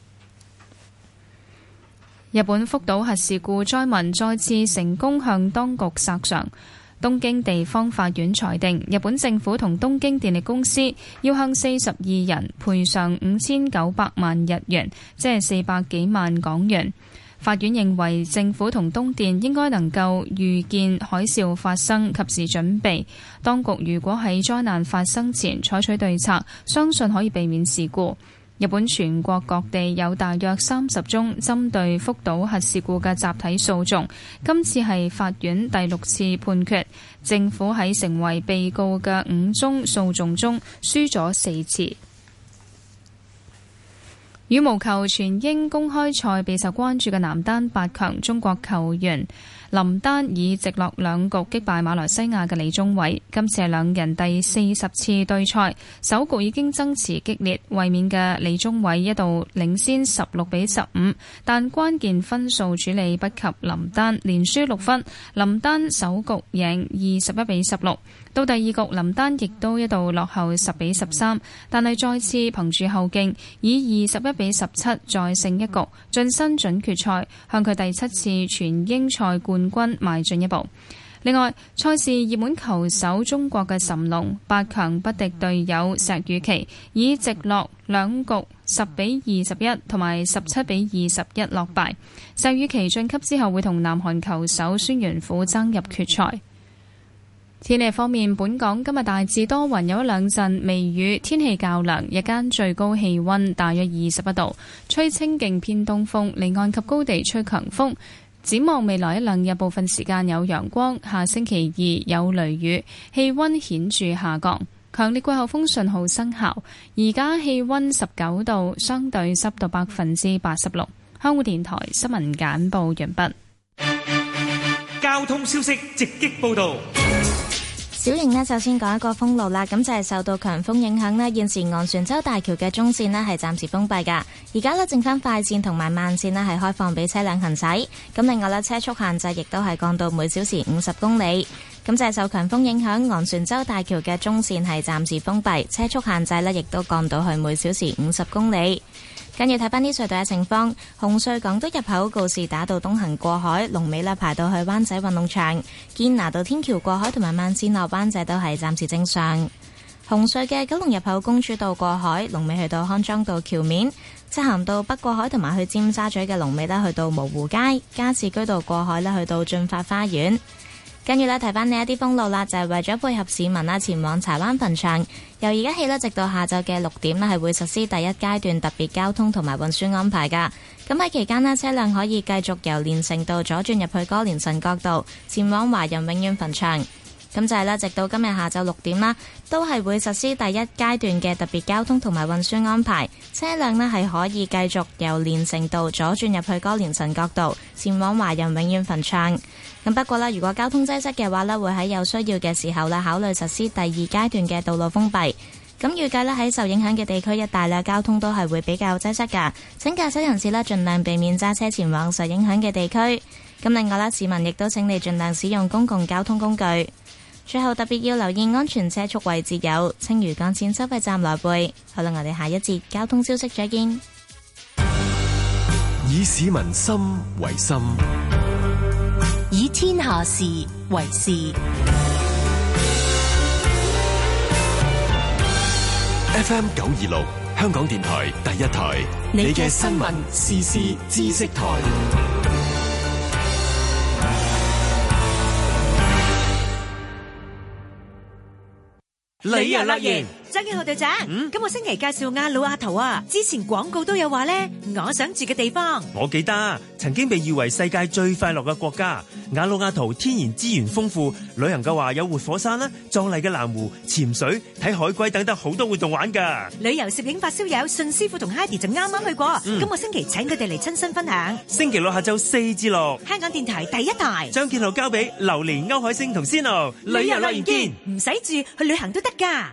日本福島核事故災民再次成功向當局索償。東京地方法院裁定，日本政府同東京電力公司要向四十二人賠償五千九百萬日元，即係四百幾萬港元。法院認為政府同東電應該能夠預見海嘯發生，及時準備。當局如果喺災難發生前採取對策，相信可以避免事故。日本全國各地有大約三十宗針對福島核事故嘅集體訴訟，今次係法院第六次判決。政府喺成為被告嘅五宗訴訟中輸咗四次。羽毛球全英公開賽備受關注嘅男單八強，中國球員林丹以直落兩局擊敗馬來西亞嘅李宗偉，今次係兩人第四十次對賽，首局已經爭持激烈，衛冕嘅李宗偉一度領先十六比十五，但關鍵分數處理不及林丹，連輸六分，林丹首局贏二十一比十六。到第二局，林丹亦都一度落後十比十三，但係再次憑住後勁，以二十一比十七再勝一局，晉身準決賽，向佢第七次全英賽冠軍邁進一步。另外，賽事熱門球手中國嘅諶龍八強不敵隊友石宇奇，以直落兩局十比二十一同埋十七比二十一落敗。石宇奇晉級之後會同南韓球手孫元虎爭入決賽。天氣方面，本港今日大致多雲，有一兩陣微雨，天氣較涼，日間最高氣溫大約二十一度，吹清勁偏東風，離岸及高地吹強風。展望未來一兩日，部分時間有陽光，下星期二有雷雨，氣溫顯著下降，強烈季候風信號生效。而家氣溫十九度，相對濕度百分之八十六。香港電台新聞簡報完畢。 交通消息直擊報道。 小瑩呢，首先講一個封路啦，咁就係受到強風影響呢，現時昂船洲大橋嘅中線呢係暫時封閉噶，而家呢，剩翻快線同埋慢線呢係開放俾車輛行駛，咁另外呢，車速限制亦都係降到每小時五十公里，咁就係受強風影響，昂船洲大橋嘅中線係暫時封閉，車速限制呢亦都降到去每小時五十公里。 跟住睇翻啲隧道嘅情況，紅隧港島入口告士打道東行過海，龍尾呢排到去灣仔運動場；堅拿道天橋過海同埋慢線落灣仔都係暫時正常。紅隧嘅九龍入口公主道過海，龍尾去到康莊道橋面；漆咸道北過海同埋去尖沙咀嘅龍尾呢去到蕪湖街；加士居道過海呢去到駿發花園。跟住呢，提翻呢一啲封路啦，就係、是、為咗配合市民啦前往柴灣墳場，由而家起呢，直到下晝嘅六點呢，係會實施第一階段特別交通同埋運輸安排噶。咁喺期間呢，車輛可以繼續由連城道左轉入去歌連臣角道，前往華人永遠墳場。咁就係啦，直到今日下晝六點啦，都係會實施第一階段嘅特別交通同埋運輸安排。車輛呢係可以繼續由連城道左轉入去歌連臣角道，前往華人永遠墳場。咁不過啦，如果交通擠塞嘅話呢，會喺有需要嘅時候啦，考慮實施第二階段嘅道路封閉。咁預計呢，喺受影響嘅地區一帶啦，交通都係會比較擠塞噶。請駕駛人士呢，盡量避免揸車前往受影響嘅地區。咁另外啦，市民亦都請你盡量使用公共交通工具。最後特別要留意安全車速位置有青嶼幹線收費站來回。好啦，我哋下一節交通消息再見。 以市民心為心， 以天下事為事。 F M 九二六香港電台第一台，你嘅新聞時事知識台。 你又甩完， 張建豪隊長，嗯、今個星期介紹亞魯亞圖啊，之前廣告都有話咧，我想住嘅地方。 我記得曾經被譽為世界最快樂嘅國家，亞魯亞圖天然資源豐富，旅行嘅話有活火山啦、壯麗嘅藍湖、潛水、睇海龜等等好多活動玩噶。 旅遊攝影發燒友信師傅同 Heidi 就啱啱去過，嗯、今個星期請佢哋嚟親身分享。 星期六下晝四至六， 香港電台第一台。 張建豪交俾榴蓮、歐海星同 Sino， 旅遊樂園見，唔使住去旅行都得噶。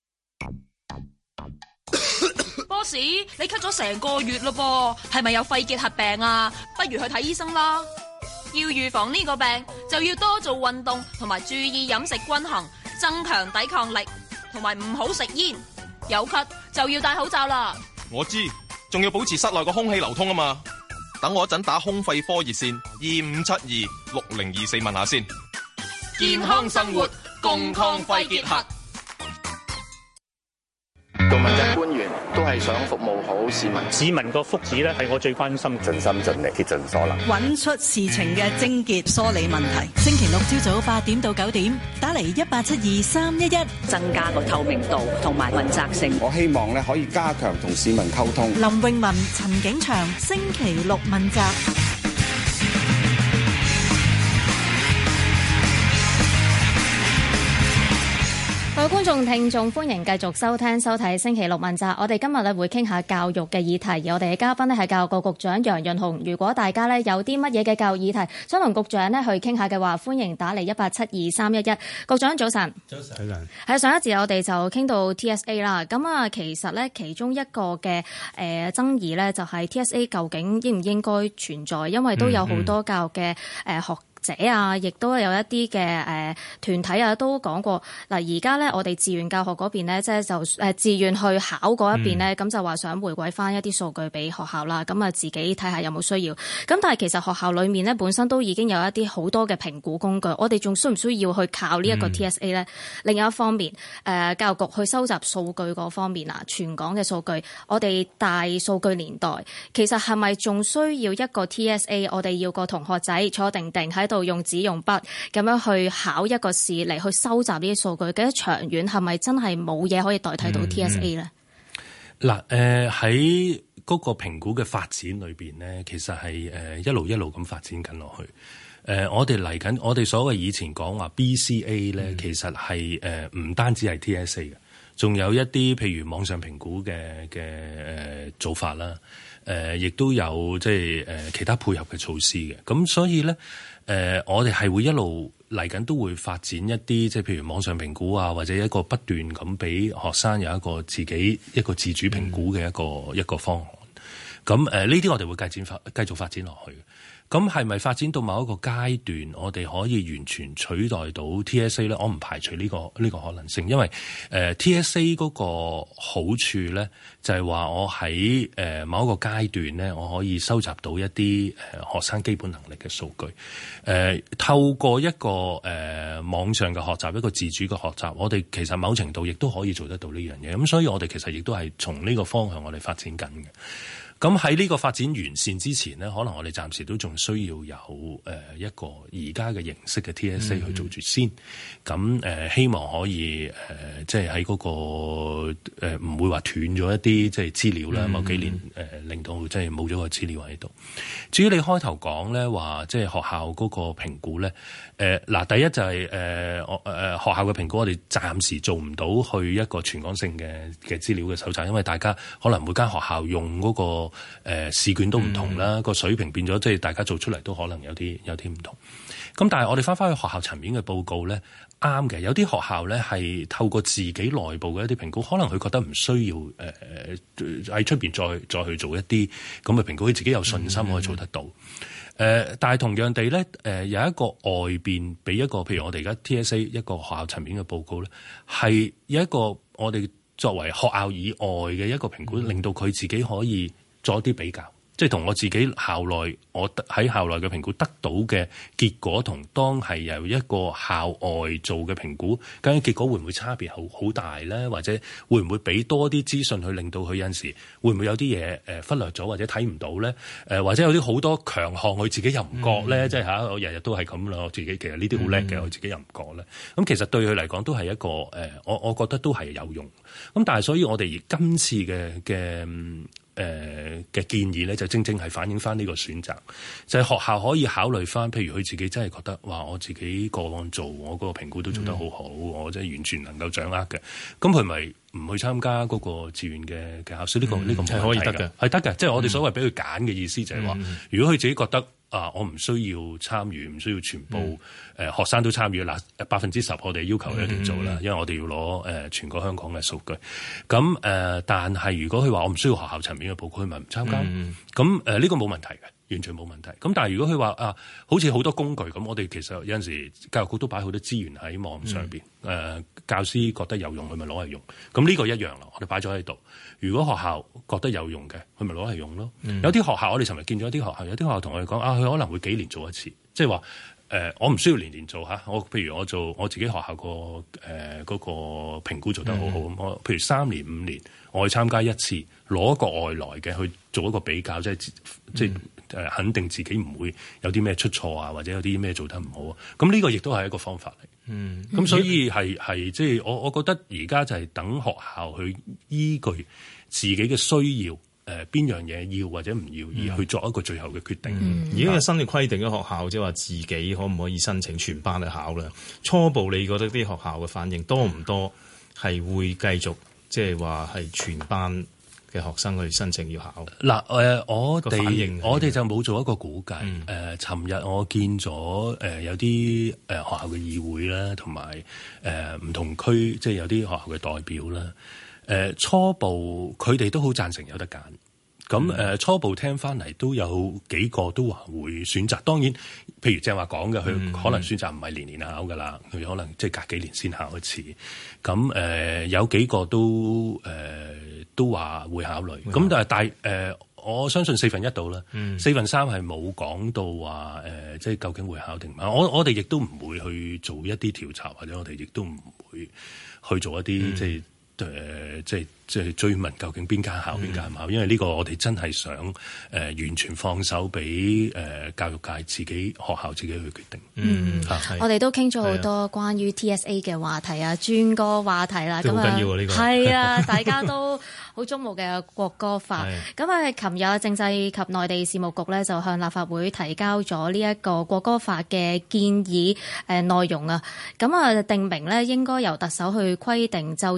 Boss， 你咳咗成個月咯噃，係咪有肺結核病啊？不如去睇醫生啦。要預防呢個病，就要多做運動，同埋注意飲食均衡，增強抵抗力，同埋唔好食煙。有咳就要戴口罩啦。 我知，仲要保持室內個空氣流通啊嘛。等我一陣打胸肺科熱線二五七二六零二四問下先。 健康生活，共抗肺結核。 做問責官員都係想服務好市民， 市民個福祉咧係我最關心， 盡心盡力竭盡所能， 揾出事情嘅症結，梳理問題。 星期六朝早八點到九點，打嚟一八七二三一一， 增加個透明度同埋問責性。 我希望咧可以加強同市民溝通。 林詠雯、陳景祥，星期六問責。 各位觀眾、聽眾，歡迎繼續收聽、收睇星期六問責。我哋今日咧會傾下教育嘅議題，而我哋嘅嘉賓咧係教育局局長楊潤雄。如果大家咧有啲乜嘢嘅教育議題想同局長咧去傾下嘅話，歡迎打嚟一八七二三一一。局長早晨。早晨。係上一節我哋就傾到 T S A 啦。咁啊，其實咧其中一個嘅誒、呃、爭議咧就係 T S A 究竟應唔應該存在，因為都有好多教育嘅誒、呃、學者啊，亦都有一啲嘅誒團體啊，都講過嗱。而家咧，我哋自願教學嗰邊咧，即係就誒、是、自願去考嗰一邊咧，咁、嗯、就話想回歸翻一啲數據俾學校啦。咁啊，自己睇下有冇需要。咁但係其實學校裏面咧，本身都已經有一啲好多嘅評估工具。我哋仲需唔需要去靠呢一個 T S A 咧？嗯、另一方面，誒、呃、教育局去收集數據嗰方面啊，全港嘅數據，我哋大數據年代，其實係咪仲需要一個 T S A？ 我哋要個同學仔坐定定喺度用紙用筆咁樣去考一個試嚟去收集呢啲數據，嘅長遠係咪真係冇嘢可以代替到 T S A 咧？ 嗱、嗯，誒喺嗰個評估嘅發展裏邊咧，其實係誒一路一路咁發展緊落去。誒、呃，我哋嚟緊，我哋所謂以前講話 B C A 咧、嗯，其實係誒唔單止係 T S A 嘅，仲有一啲譬如網上評估嘅嘅誒做法啦。誒、呃，亦都有即係誒其他配合嘅措施嘅。咁所以咧，誒、呃、我哋係會一路嚟緊都會發展一啲即係譬如網上評估啊，或者一個不斷咁俾學生有一個自己一個自主評估嘅一個、嗯、一個方案。 咁誒呢啲我哋會繼展發繼續發展落去。咁係咪發展到某一個階段，我哋可以完全取代到 T S A 咧？我唔排除呢個呢個可能性，因為誒、呃、T S A 嗰個好處咧，就係話我喺誒某一個階段咧，我可以收集到一啲誒學生基本能力嘅數據。誒、呃、透過一個誒、呃、網上嘅學習，一個自主嘅學習，我哋其實某程度亦都可以做得到呢樣嘢。咁所以我哋其實亦都係從呢個方向我哋發展緊嘅。咁喺呢個發展完善之前呢，可能我哋暫時都仲需要有誒、呃、一個而家嘅形式嘅 T S A 去做住先。咁、嗯呃、希望可以誒、呃，即係喺嗰個唔、呃、會話斷咗一啲即係資料啦。某幾年誒、呃、令到即係冇咗個資料喺度。至於你開頭講咧話，即係學校嗰個評估咧，誒、呃、嗱，第一就係誒我誒學校嘅評估，我哋暫時做唔到去一個全港性嘅嘅資料嘅搜集，因為大家可能每間學校用嗰、那個誒、呃、試卷都唔同啦，個、嗯、水平變咗，即係大家做出嚟都可能有啲有啲唔同。咁但係我哋翻返去學校層面嘅報告咧，啱嘅。有啲學校咧係透過自己內部嘅一啲評估，可能佢覺得唔需要誒喺出邊再再去做一啲咁嘅評估，佢自己有信心可以做得到。誒、嗯呃，但係同樣地咧，誒、呃、有一個外邊俾一個，譬如我哋而家 T S A 一個學校層面嘅報告咧，係有一個我哋作為學校以外嘅一個評估，嗯、令到佢自己可以做一啲比較，即係同我自己校內我喺校內嘅評估得到嘅結果，同當係由一個校外做嘅評估，究竟結果會唔會差別好好大咧？或者會唔會俾多啲資訊去令到佢有陣時會唔會有啲嘢誒忽略咗或者睇唔到咧？誒、呃、或者有啲好多強項佢自己又唔覺咧，嗯、即係嚇我日日都係咁啦，我自己其實呢啲好叻嘅，我自己又唔覺咧。咁其實對佢嚟講都係一個誒、呃，我我覺得都係有用。咁但係所以我哋今次嘅嘅。誒嘅、呃、建議咧，就正正係反映翻呢個選擇，就係、是、學校可以考慮翻，譬如佢自己真係覺得，哇！我自己個案做，我嗰個評估都做得好好，嗯、我真係完全能夠掌握嘅，咁佢咪唔去參加嗰個志願嘅嘅考試？呢、這個呢、嗯、個係可以得嘅，係得嘅，即係我哋所謂俾佢揀嘅意思就係話，嗯、如果佢自己覺得。啊！我唔需要參與，唔需要全部誒、嗯呃、學生都參與嗱，百分之十我哋要求一定做啦，嗯、因為我哋要攞誒、呃、全個香港嘅數據。咁誒、呃，但係如果佢話我唔需要學校層面嘅報告，佢咪唔參加？咁誒呢個冇問題嘅，完全冇問題。咁但係如果佢話啊，好似好多工具咁，我哋其實有陣時教育局都擺好多資源喺網上邊。誒、嗯呃、教師覺得有用，佢咪攞嚟用。咁呢個一樣啦，我哋擺咗喺度。如果學校覺得有用嘅，佢咪攞嚟用咯。嗯、有啲學校我哋尋日見咗啲學校，有啲學校同我哋講啊，佢可能會幾年做一次，即係話誒，我唔需要年年做嚇。我譬如我做我自己學校個誒嗰個評估做得好好咁，我、嗯、譬如三年五年我去參加一次，攞一個外來嘅去做一個比較，即係即係誒肯定自己唔會有啲咩出錯啊，或者有啲咩做得唔好啊。咁呢個亦都係一個方法嚟。嗯，咁所以係係即係我我覺得而家就係等學校去依據自己嘅需要，誒邊樣嘢要或者唔要，而去作一個最後嘅決定。 嗯、而家有新嘅規定嘅學校，即係話自己可唔可以申請全班去考咧？初步你覺得啲學校嘅反應多唔多？係會繼續即係話係全班嘅學生去申請要考？嗱誒、呃，我哋我哋就冇做一個估計。誒、嗯，尋日、呃、我見咗誒、呃、有啲誒、呃、學校嘅議會啦，同埋誒唔同區，即係有啲學校嘅代表啦。誒、呃、初步佢哋都好贊成有得揀，咁誒、呃、初步聽翻嚟都有幾個都話會選擇。當然，譬如正話講嘅，佢可能選擇唔係年年考噶啦，佢可能即係隔幾年先考一次。咁誒、呃、有幾個都誒、呃、都話會考慮。咁、嗯、但係大誒，我相信四分一到啦，嗯、四分三係冇講到話誒、呃，即係究竟會考定唔考。我我哋亦都唔會去做一啲調查，或者我哋亦都唔會去做一啲、嗯、即係。誒、呃，即係即係追問究竟邊間考邊間唔考，因為呢個我哋真係想誒、呃、完全放手俾誒、呃、教育界自己學校自己去決定。 嗯，啊、我哋都傾咗好多關於 T S A 嘅話題啊，轉個話題啦。咁啊，好緊要啊呢個。係啊，大家都好矚目嘅國歌法。咁啊，琴日政制及內地事務局咧就向立法會提交咗呢一個國歌法嘅建議誒內容啊。咁啊，定明咧應該由特首去規定奏唱國歌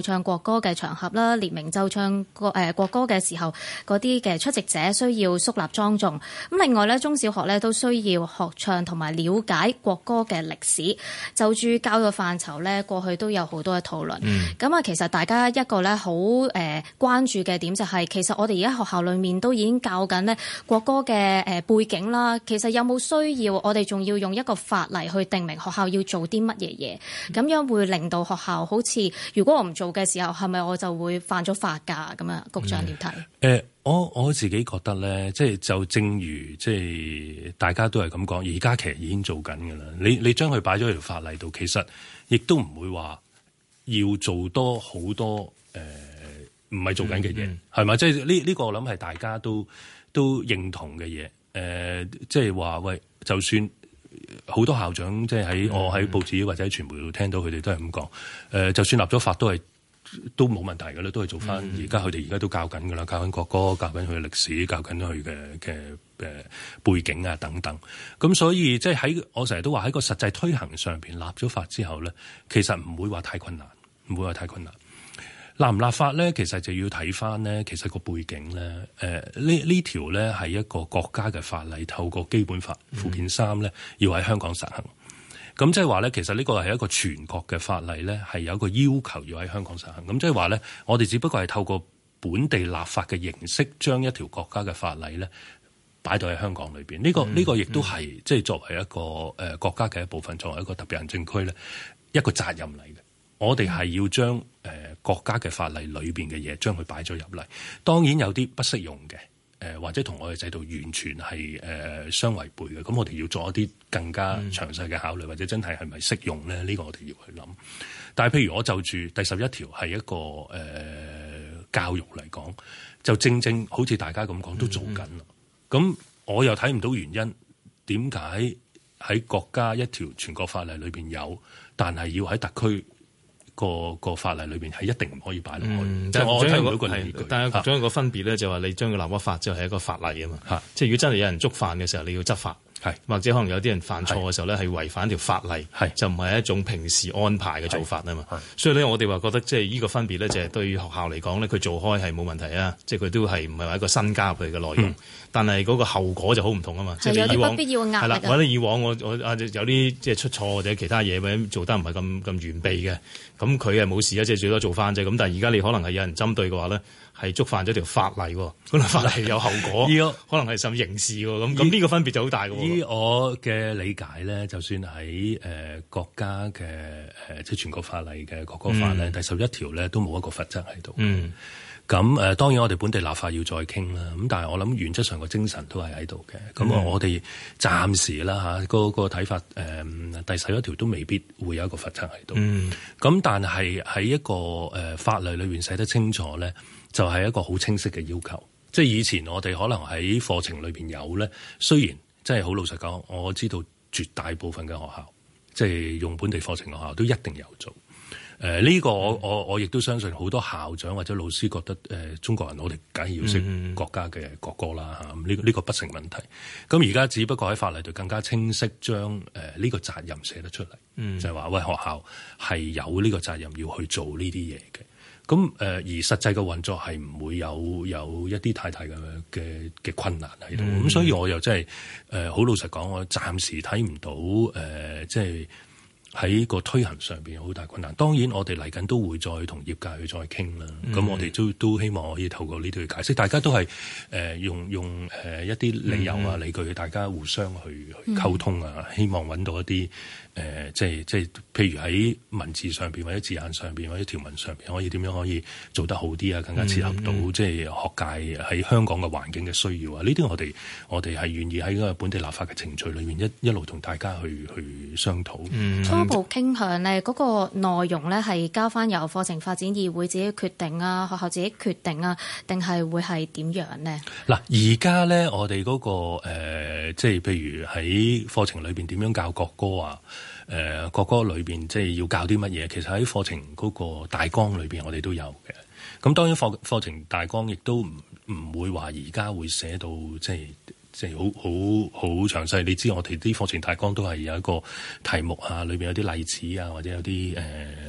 歌嘅場合啦，列明奏唱國誒國歌嘅時候，嗰啲嘅出席者需要肅立莊重。咁另外咧，中小學咧都需要學唱同埋了解國歌嘅歷史。就住教育範疇咧，過去都有好多嘅討論。咁啊、嗯，其實大家一個咧好誒關注嘅點就係、是，其實我哋而家學校裏面都已經教緊咧國歌嘅誒背景啦。其實有冇需要我哋仲要用一個法例去定明學校要做啲乜嘢嘢？咁樣會令到學校好似，如果我唔做嘅時候，係咪我就會犯咗法㗎？咁啊，局長點睇？誒、 嗯呃，我我自己覺得咧，即係就正如即係大家都係咁講，而家其實已經做緊㗎啦。你你將佢擺咗喺條法例度，其實亦都唔會話要做多好多誒，唔係做緊嘅嘢，係咪、嗯嗯？即係呢呢個我諗係大家都都認同嘅嘢。誒、呃，即係話喂，就算好多校長即係喺我喺報紙或者喺傳媒度聽到佢哋都係咁講。誒、呃，就算立咗法都係都冇問題㗎啦，都係做翻而家佢哋而家都教緊㗎啦，教緊國歌，教緊佢嘅歷史，教緊佢嘅嘅誒背景啊等等。咁所以即係喺我成日都話喺個實際推行上邊立咗法之後咧，其實唔會話太困難，唔會話太困難。立唔立法咧，其實就要睇翻咧，其實個背景咧，誒、呃、呢呢條咧係一個國家嘅法例，透過基本法附件三咧，要喺香港實行。咁即係話咧，其實呢個係一個全國嘅法例咧，係有一個要求要喺香港實行。咁即係話咧，我哋只不過係透過本地立法嘅形式，將一條國家嘅法例咧擺到喺香港裏邊。呢、這個呢、嗯、個亦都係即係作為一個誒、呃、國家嘅一部分，作為一個特別行政區咧一個責任嚟嘅。我哋係要將誒、呃、國家嘅法例裏邊嘅嘢，將佢擺咗入嚟。當然有啲不適用嘅，誒、呃、或者同我哋制度完全係誒、呃、相違背嘅。咁我哋要做一啲更加詳細嘅考慮，或者真係係咪適用咧？呢、這個我哋要去諗。但係譬如我就住第十一條係一個誒、呃、教育嚟講，就正正好似大家咁講都做緊啦。咁、嗯嗯、我又睇唔到原因點解喺國家一條全國法例裏邊有，但係要喺特區個個法例裏邊係一定唔可以擺落去。嗯、即係我睇唔到個理據。但係局長有個分別咧，就話你將佢立咗法之後係一個法例啊嘛。啊即係如果真係有人觸犯嘅時候，你要執法。係或者可能有啲人犯錯嘅時候咧，係違反條法例，係就唔係一種平時安排嘅做法啊嘛。所以咧，我哋話覺得即係呢個分別咧，就係對學校嚟講咧，佢做開係冇問題啊。即係佢都係唔係話一個新加入去嘅內容，嗯、但係嗰個後果就好唔同啊嘛。即係以往不必要嘅壓力係啦，或者以往我我啊有啲即係出錯或者其他嘢或者做得唔係咁咁完備嘅，咁佢係冇事啊，即係最多做翻啫。咁但係而家你可能係有人針對嘅話咧，係觸犯咗條法例，嗰條法例有後果，可能係甚至刑事喎。咁咁呢個分別就好大嘅。 依我嘅理解咧，就算喺誒、呃、國家嘅誒、呃、即係全國法例嘅國歌法咧，嗯、第十一條咧都冇一個罰則喺度。嗯，咁誒、呃、當然我哋本地立法要再傾啦。咁但係我諗原則上個精神都係喺度嘅。咁、嗯、我哋暫時啦嚇，嗰個睇法誒、呃、第十一條都未必會有一個罰則喺度。嗯，咁但係喺一個誒、呃、法例裏邊寫得清楚咧，就係、是、一個好清晰嘅要求。即係以前我哋可能喺課程裏邊有咧，雖然真係好老實講，我知道絕大部分嘅學校，即係用本地課程學校都一定有做。誒、呃、呢、這個我我我亦都相信好多校長或者老師覺得誒、呃、中國人我哋梗係要識國家嘅國歌啦嚇，呢呢個不成問題。咁而家只不過喺法例度更加清晰將誒呢個責任寫得出嚟，嗯、就係話喂，學校係有呢個責任要去做呢啲嘢嘅。咁誒、呃、而實際嘅運作係唔會有有一啲太大嘅嘅嘅困難喺度，咁、嗯、所以我又真係誒好老實講，我暫時睇唔到誒、呃、即係喺個推行上邊有好大困難。當然我哋嚟緊都會再同業界去再傾啦。咁、嗯、我哋都都希望可以透過呢度去解釋，大家都係誒、呃、用用誒一啲理由啊、嗯、理據，大家互相去去溝通啊，嗯、希望揾到一啲。誒、呃，即係即係，譬如喺文字上邊，或者字眼上邊，或者條文上邊，可以點樣可以做得好啲啊？更加切合到、嗯、即係學界喺香港嘅環境嘅需要啊！呢啲我哋我哋係願意喺個本地立法嘅程序裏面一一路同大家去去商討。嗯、 初步傾向咧，嗰、那個內容咧係交翻由課程發展議會自己決定啊，學校自己決定啊，定係會係點樣呢？嗱，而家咧我哋嗰、那個、呃、即係譬如喺課程裏邊點樣教國歌啊？誒、呃、國歌裏邊即係要教啲乜嘢？其實喺課程嗰個大綱裏邊，我哋都有嘅。咁當然課課程大綱亦都唔唔會話而家會寫到即係即係好好好詳細。你知我哋啲課程大綱都係有一個題目啊，裏邊有啲例子啊，或者有啲誒誒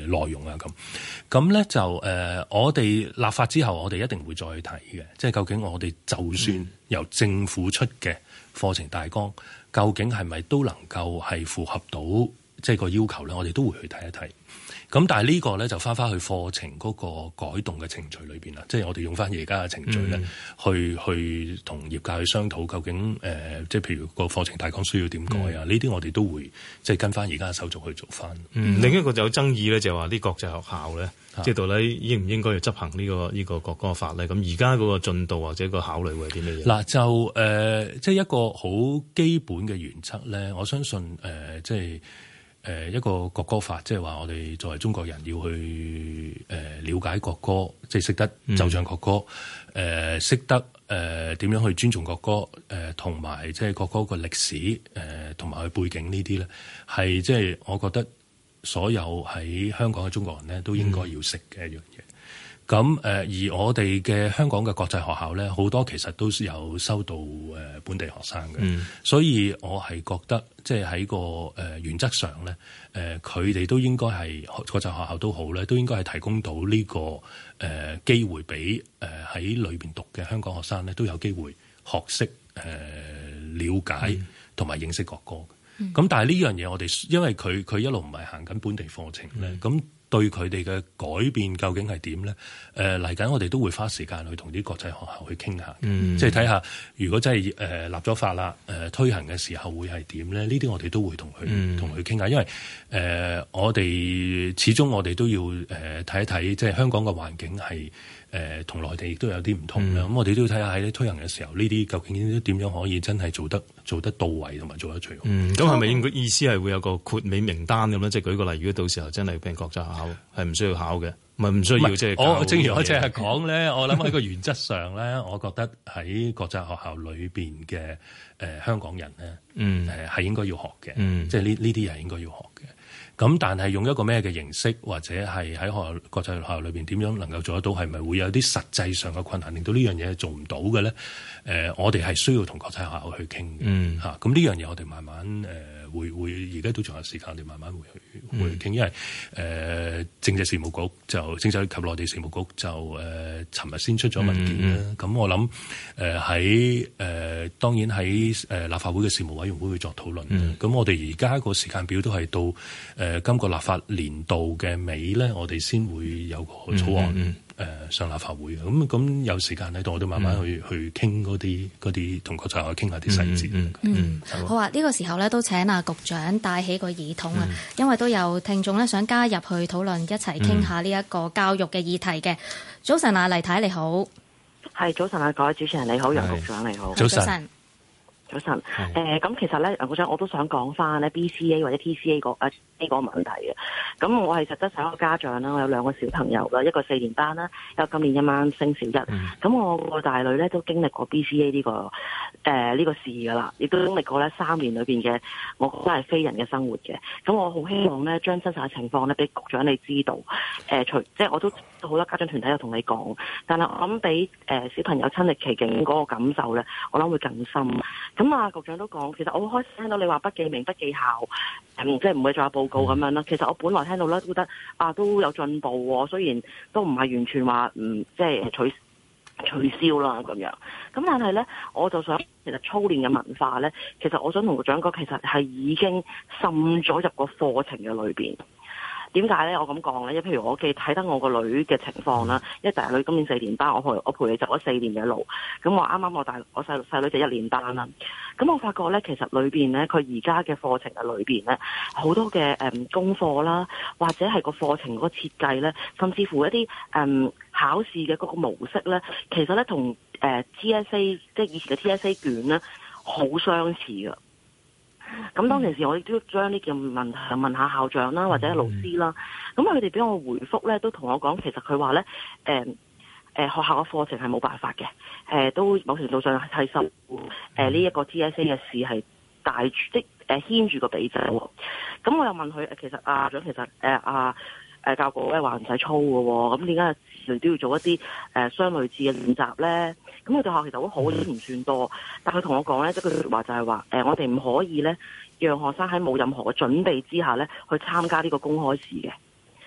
內容啊咁。咁咧就誒、呃，我哋立法之後，我哋一定會再去睇嘅，即係究竟我哋就算由政府出嘅課程大綱，究竟係咪都能夠係符合到即係個要求咧？我哋都會去睇一睇。咁但係呢個咧就翻翻去課程嗰個改動嘅程序裏邊啦，即係我哋用翻而家嘅程序咧、嗯，去去同業界去商討究竟誒、呃，即係譬如個課程大綱需要點改啊？呢、嗯、啲我哋都會即係跟翻而家嘅手續去做翻。 嗯，另一個就有爭議咧，就係話啲國際學校咧，即係到底應唔應該要執行呢、呢個呢、呢個國歌法咧？咁而家嗰個進度或者個考慮會係啲咩嘢？嗱，就誒、呃，即係一個好基本嘅原則咧，我相信誒、呃，即係。誒一個國歌法，即係話我哋作為中國人要去誒了解國歌，即係識得奏唱國歌，誒、嗯、識得誒點樣去尊重國歌，誒同埋即係國歌個歷史，誒同埋佢背景呢啲咧，係即係我覺得所有喺香港嘅中國人咧都應該要識嘅一樣嘢。咁、嗯、誒而我哋嘅香港嘅國際學校咧，好多其實都有收到誒本地學生嘅、嗯，所以我係覺得即係喺個誒原則上咧，誒佢哋都應該係國際學校都好咧，都應該係提供到呢個誒機會俾誒喺裏邊讀嘅香港學生咧，都有機會學識誒了解同埋認識國歌。咁、嗯、但係呢樣嘢我哋因為佢佢一路唔係行緊本地課程咧，咁、嗯。對佢哋嘅改變究竟係點咧？誒嚟緊我哋都會花時間去同啲國際學校去傾下，嗯、即係睇下如果真係誒、呃、立咗法啦，誒、呃、推行嘅時候會係點咧？呢啲我哋都會同佢同佢傾下，因為誒、呃、我哋始終我哋都要誒睇一睇，即係香港嘅環境係誒同內地亦都有啲唔同啦。咁、嗯、我哋都要睇下喺推行嘅時候，呢啲究竟點樣可以真係做得做得到位同埋做得最好。咁係咪應該意思係會有個豁免名單咁咧？即係舉個例，如果到時候真係俾國際學校係唔需要考嘅，唔係唔需要即係。我正如我淨係講咧，我諗喺個原則上咧，我覺得喺國際學校裏邊嘅誒香港人咧，誒、嗯、係、呃、應該要學嘅、嗯，即係呢呢啲係應該要學嘅。咁但係用一個咩嘅形式，或者係喺學校國際學校裏邊點樣能夠做得到，係咪會有啲實際上嘅困難，令到呢樣嘢做唔到嘅咧？誒、呃，我哋係需要同國際學校去傾嘅，嚇、嗯。咁、啊、呢樣嘢我哋慢慢誒、呃、會會，而家都仲有時間，我哋慢慢會去、嗯、會傾，因為誒、呃、政制事務局就政制及內地事務局就誒尋日先出咗文件啦。咁、嗯嗯、我諗誒喺誒當然喺誒、呃、立法會嘅事務委員會會作討論。咁、嗯、我哋而家個時間表都係到。誒、呃，今個立法年度嘅尾咧，我哋先會有個草案誒、嗯嗯呃、上立法會嘅。咁咁有時間喺度，我都慢慢去、嗯、去傾嗰啲嗰啲同國際去傾下啲細節。嗯， 嗯，嗯好啊！呢、這個時候咧都請阿局長帶起個耳筒啊、嗯，因為都有聽眾咧想加入去討論，一齊傾下呢一個教育嘅議題嘅、嗯。早晨啊，黎太你好， 係早晨啊，各位主持人你好，楊局長你好， 早晨。 早晨，誒咁、呃、其實咧，局長我都想講翻咧 B C A 或者 T C A 個誒呢個問題嘅。咁我係實質上一個家長啦，我有兩個小朋友啦，一個四年班啦，有今年一晚升小一。咁、嗯、我個大女咧都經歷過 B C A 呢、這個誒呢、呃這個事噶啦，亦都經歷過咧三年裏邊嘅，我覺得係非人嘅生活嘅。咁我好希望咧將真實嘅情況咧俾局長你知道。誒、呃，除即係我都好多家長團體有同你講，但係我諗俾誒小朋友親歷其境嗰個感受咧，我諗會更深。咁啊，局長都講，其實我好開始聽到你話不記名不記校，嗯、即係唔會再有報告咁樣啦。其實我本來聽到咧都覺得啊都有進步喎，雖然都唔係完全話嗯即係取取消啦咁樣。咁但係咧，我就想其實操練嘅文化咧，其實我想同局長講，其實係已經滲咗入個課程嘅裏邊。點解咧？我咁講咧，因為譬如我記睇得我個女嘅情況啦，因為大女今年四年班，我陪我陪你走咗四年嘅路，咁我啱啱我大我細細女就一年班啦。咁我發覺咧，其實裏邊咧，佢而家嘅課程嘅裏邊咧，好多嘅誒、嗯、功課啦，或者係個課程嗰個設計咧，甚至乎一啲誒、嗯、考試嘅嗰個模式咧，其實咧同誒 T S A 即係以前嘅 T S A 卷咧，好相似㗎。咁當其時我亦都將呢件問題問下校長啦，或者老師啦。咁佢哋俾我回覆咧，都同我講，其實佢話咧，誒、呃、誒、呃、學校嘅課程係冇辦法嘅，誒、呃、都某程度上係受誒呢一個 T S A 嘅事係帶住即誒牽住個鼻仔。咁我又問佢，其實啊長，其實誒啊誒教育局咧話唔使操嘅喎，咁點解時都要做一啲誒、呃、相類似嘅練習咧？咁佢哋學校其實好好，都唔算多。但佢同我講咧，即係佢話就係話，誒、呃，我哋唔可以咧，讓學生喺冇任何嘅準備之下咧，去參加呢個公開試嘅。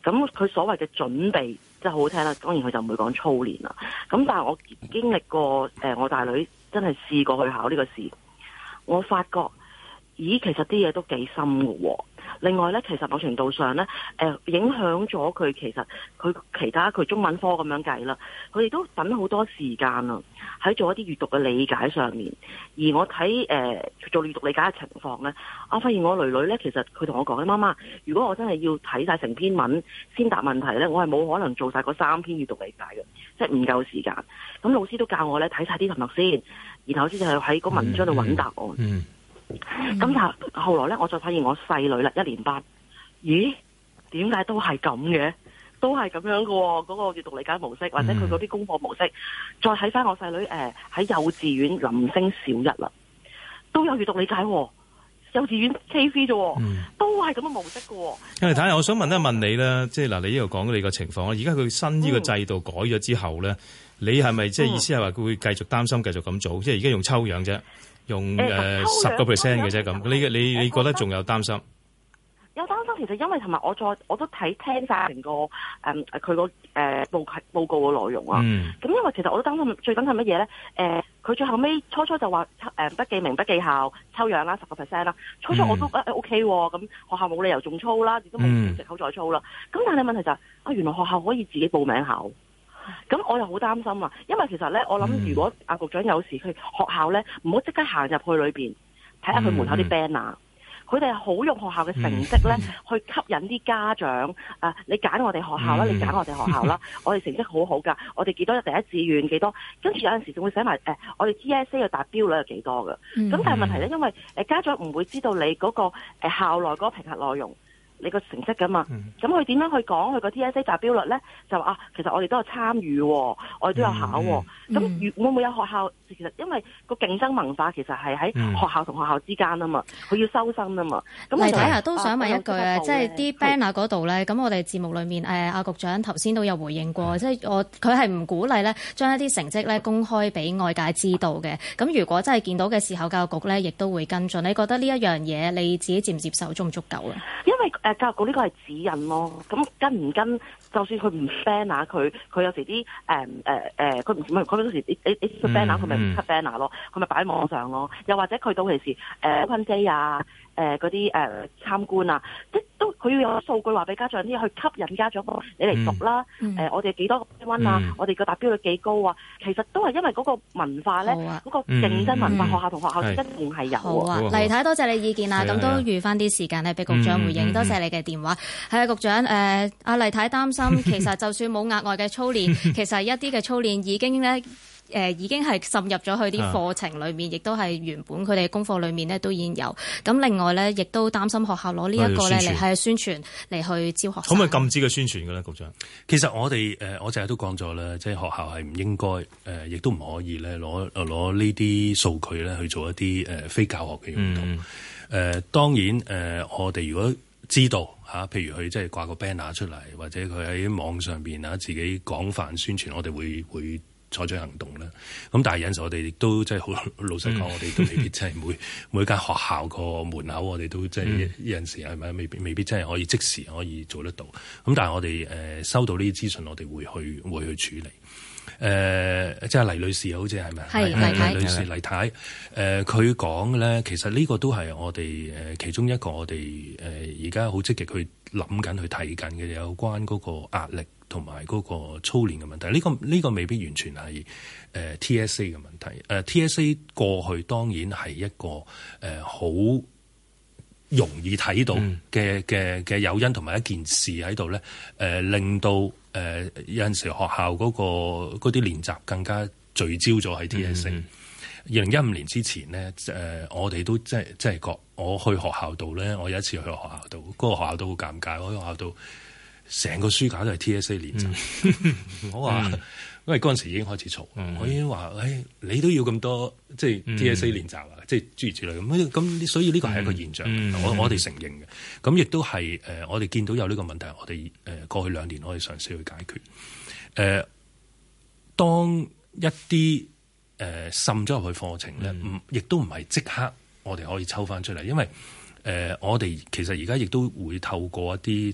咁佢所謂嘅準備即係好好聽啦，當然佢就唔會講操練啦。咁但係我經歷過誒、呃，我大女真係試過去考呢個試，我發覺咦，其實啲嘢都幾深㗎喎。另外咧，其實某程度上咧，誒、呃、影響咗佢其實佢其他佢中文科咁樣計啦，佢哋都等好多時間啊，喺做一啲閱讀嘅理解上面。而我睇誒、呃、做閱讀理解嘅情況咧，我發現我女女咧，其實佢同我講咧，媽媽，如果我真係要睇晒成篇文先答問題咧，我係冇可能做晒嗰三篇閱讀理解嘅，即係唔夠時間。咁老師都教我咧睇晒啲題目先，然後先就係喺個文章度揾答案。嗯嗯咁但係後來咧，我就發現我細女啦，一年班，咦？點解都係咁嘅？都係咁樣嘅喎，嗰、那個閱讀理解模式，或者佢嗰啲功課模式。嗯、再睇翻我細女誒喺、呃、幼稚園臨升小一啦，都有閱讀理解喎。幼稚園 K V 啫，嗯、都係咁嘅模式嘅。 因為睇下，我想問一問你咧，即係嗱，你呢度講你個情況啦。而家佢新呢個制度改咗之後咧，嗯、你係咪即係意思係話佢會繼續擔心繼續咁做？嗯、即係而家用抽樣啫。用誒十個 percent 嘅啫咁，你你你覺得仲有擔心？ 有擔心，其實因為同埋我再我都睇聽晒成個誒佢個誒報報告嘅內容啊。咁、嗯、因為其實我都擔心最緊係乜嘢咧？誒、呃，佢最後尾初初就話誒不記名不記校抽樣啦，十個 percent 啦。初初我都誒、嗯、OK 喎、啊，咁學校冇理由仲操啦，亦都冇藉口再操啦。咁、嗯、但係問題就係、是、啊，原來學校可以自己報名考。咁我又好擔心啊，因為其實咧，我諗如果阿局長有時去學校咧，唔好即刻行入去裏邊睇下佢門口啲 banner，佢哋係好用學校嘅成績咧去吸引啲家長啊！你揀我哋學校啦，你揀我哋學校啦，我哋成績好好㗎，我哋幾多第一志願幾多，跟住有陣時仲會寫埋誒、呃，我哋 T S A 嘅達標率係幾多㗎？咁但係問題咧，因為誒家長唔會知道你嗰個誒校內嗰個評核內容。你個成績㗎嘛？咁佢點樣去講佢個 T S A 達標率咧？就話啊，其實我哋都有參與，我哋都有考。咁、嗯、會唔會有學校？其實因為個競爭文化其實係喺學校同學校之間啊嘛，佢、嗯、要收生啊嘛。咁黎太啊，都想問一句啊，即係啲 banner 嗰度咧，咁我哋節目裏面誒阿局長頭先都有回應過，即係我佢係唔鼓勵咧將一啲成績咧公開俾外界知道嘅。咁如果真係見到嘅時候，教育局咧亦都會跟進。你覺得呢一樣嘢你自己接唔接受，足唔足夠啊？ 因為誒。呃教育局呢個係指引咯，咁跟唔跟？就算佢唔 banner 佢，佢有時啲誒誒誒，佢唔唔佢有時你你你 banner 佢咪唔 cut banner 咯，佢咪擺喺網上咯。又或者佢到其時誒 open day 啊，誒嗰啲誒參觀啊，即都佢要有數據話俾家長啲去吸引家長你嚟讀啦。誒、嗯呃、我哋幾多溫啊？嗯、我哋個達標率幾高啊？其實都係因為嗰個文化咧，嗰、啊、個競爭文化，嗯、學校同學校之間仲係有。 好啊，黎太多謝你意見啦，咁都預翻啲時間咧俾局長回應。嗯、多謝你嘅電話。係啊，局長誒，阿黎太擔心。其實就算冇額外嘅操練，其實一啲嘅操練已經咧誒、呃、已經係滲入咗去啲課程裏面，亦都係原本佢哋功課裏面咧都已經有。咁另外咧，亦都擔心學校攞呢一個咧嚟係宣傳嚟去招學生。 可唔可以禁止嘅宣傳嘅咧，局長？ 其實我哋誒我成日都講咗啦，即係學校係唔應該誒，亦、呃、都唔可以咧攞攞呢啲數據咧去做一啲誒、呃、非教學嘅用途。誒、嗯呃、當然誒、呃，我哋如果知道嚇、啊，譬如佢即係掛個 banner 出嚟，或者佢喺網上邊啊自己廣泛宣傳，我哋會會採取行動啦。咁但係有陣時我哋亦都即係好老實講，嗯、我哋都未必即係每每間學校個門口，我哋都即係有陣時係咪未必未必真係可以即時可以做得到。咁但係我哋誒、呃、收到呢啲資訊，我哋會去會去處理。誒、呃，即係黎女士好似係咪？係黎太，黎女士黎太。誒、呃，佢講嘅咧，其實呢個都係我哋誒、呃、其中一個我哋誒而家好積極去諗緊、去睇緊嘅有關嗰個壓力同埋嗰個操練嘅問題。呢、這個呢、這個未必完全係誒、呃、T S A 嘅問題。誒、呃、T S A 過去當然係一個誒好、呃、容易睇到嘅嘅嘅誘因同埋一件事喺度咧，誒、呃、令到。誒、呃、有陣時學校嗰、那個嗰啲練習更加聚焦咗喺 T S A。二零一五年之前咧，誒、呃、我哋都即係即係覺，我去學校度咧，我有一次去學校度，嗰、那個學校都好尷尬，我喺學校度成個書架都係 T S A 練習。嗯、我話，因為嗰陣時已經開始嘈，嗯、我已經話，誒、哎、你都要咁多即係 T S A 練習啊，嗯、即係諸如此類咁。咁所以呢個係一個現象，嗯嗯、我我哋承認嘅。咁亦都係誒，我哋見到有呢個問題，我哋誒、呃、過去兩年我哋嘗試去解決。誒、呃，當一啲誒滲咗入去課程咧，唔亦、嗯、都唔係即刻我哋可以抽翻出嚟，因為誒、呃、我哋其實而家亦都會透過一啲即係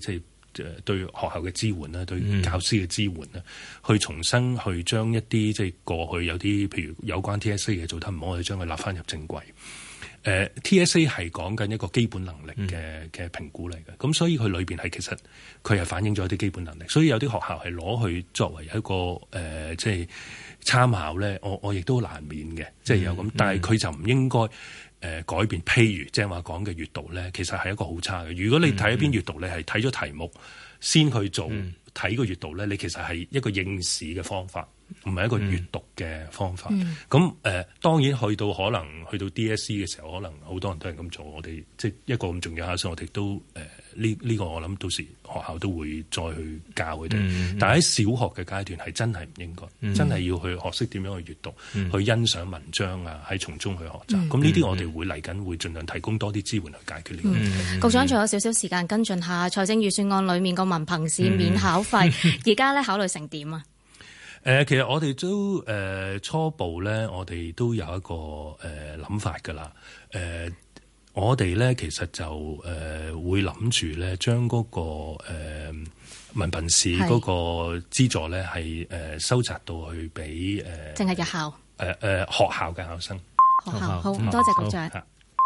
誒對學校嘅支援啦，對教師嘅支援啦，去重新去將一啲即係過去有啲譬如有關 T S A 嘅做得唔好，我哋將佢立翻入正軌。誒、uh, T S A 係講緊一個基本能力嘅嘅評估嚟嘅，咁、嗯、所以佢裏邊係其實佢係反映咗一啲基本能力，所以有啲學校係攞去作為一個誒、呃、即係參考咧，我我亦都難免嘅，即係有咁，嗯、但係佢就唔應該誒、呃、改變。譬如即係話講嘅閱讀咧，其實係一個好差嘅。如果你睇一篇閱讀，你係睇咗題目先去做睇個閱讀咧，你其實係一個應試嘅方法。唔係一個閱讀嘅方法，咁誒、嗯呃、當然去到可能去到 D S E 嘅時候，可能好多人都係咁做。我哋即係一個咁重要考試，我哋都誒呢呢個我諗到時學校都會再去教佢哋。嗯、但係喺小學嘅階段係真係唔應該，嗯、真係要去學識點樣去閱讀，嗯、去欣賞文章啊，喺從中去學習。咁呢啲我哋會嚟緊會盡量提供多啲支援去解決呢個問題。 嗯、局長仲有少少時間跟進下財政預算案裡面個文憑試免考費，而家咧考慮成點啊？ 誒、呃，其實我哋都誒、呃、初步咧，我哋都有一個誒諗、呃、法㗎啦。誒、呃，我哋咧其實就誒、呃、會諗住咧，將嗰、那個誒、呃、文憑試嗰個資助咧係誒收窄到去俾誒，淨、 呃、係日校誒誒、 呃呃、學校嘅考生。 學校好，多謝局長。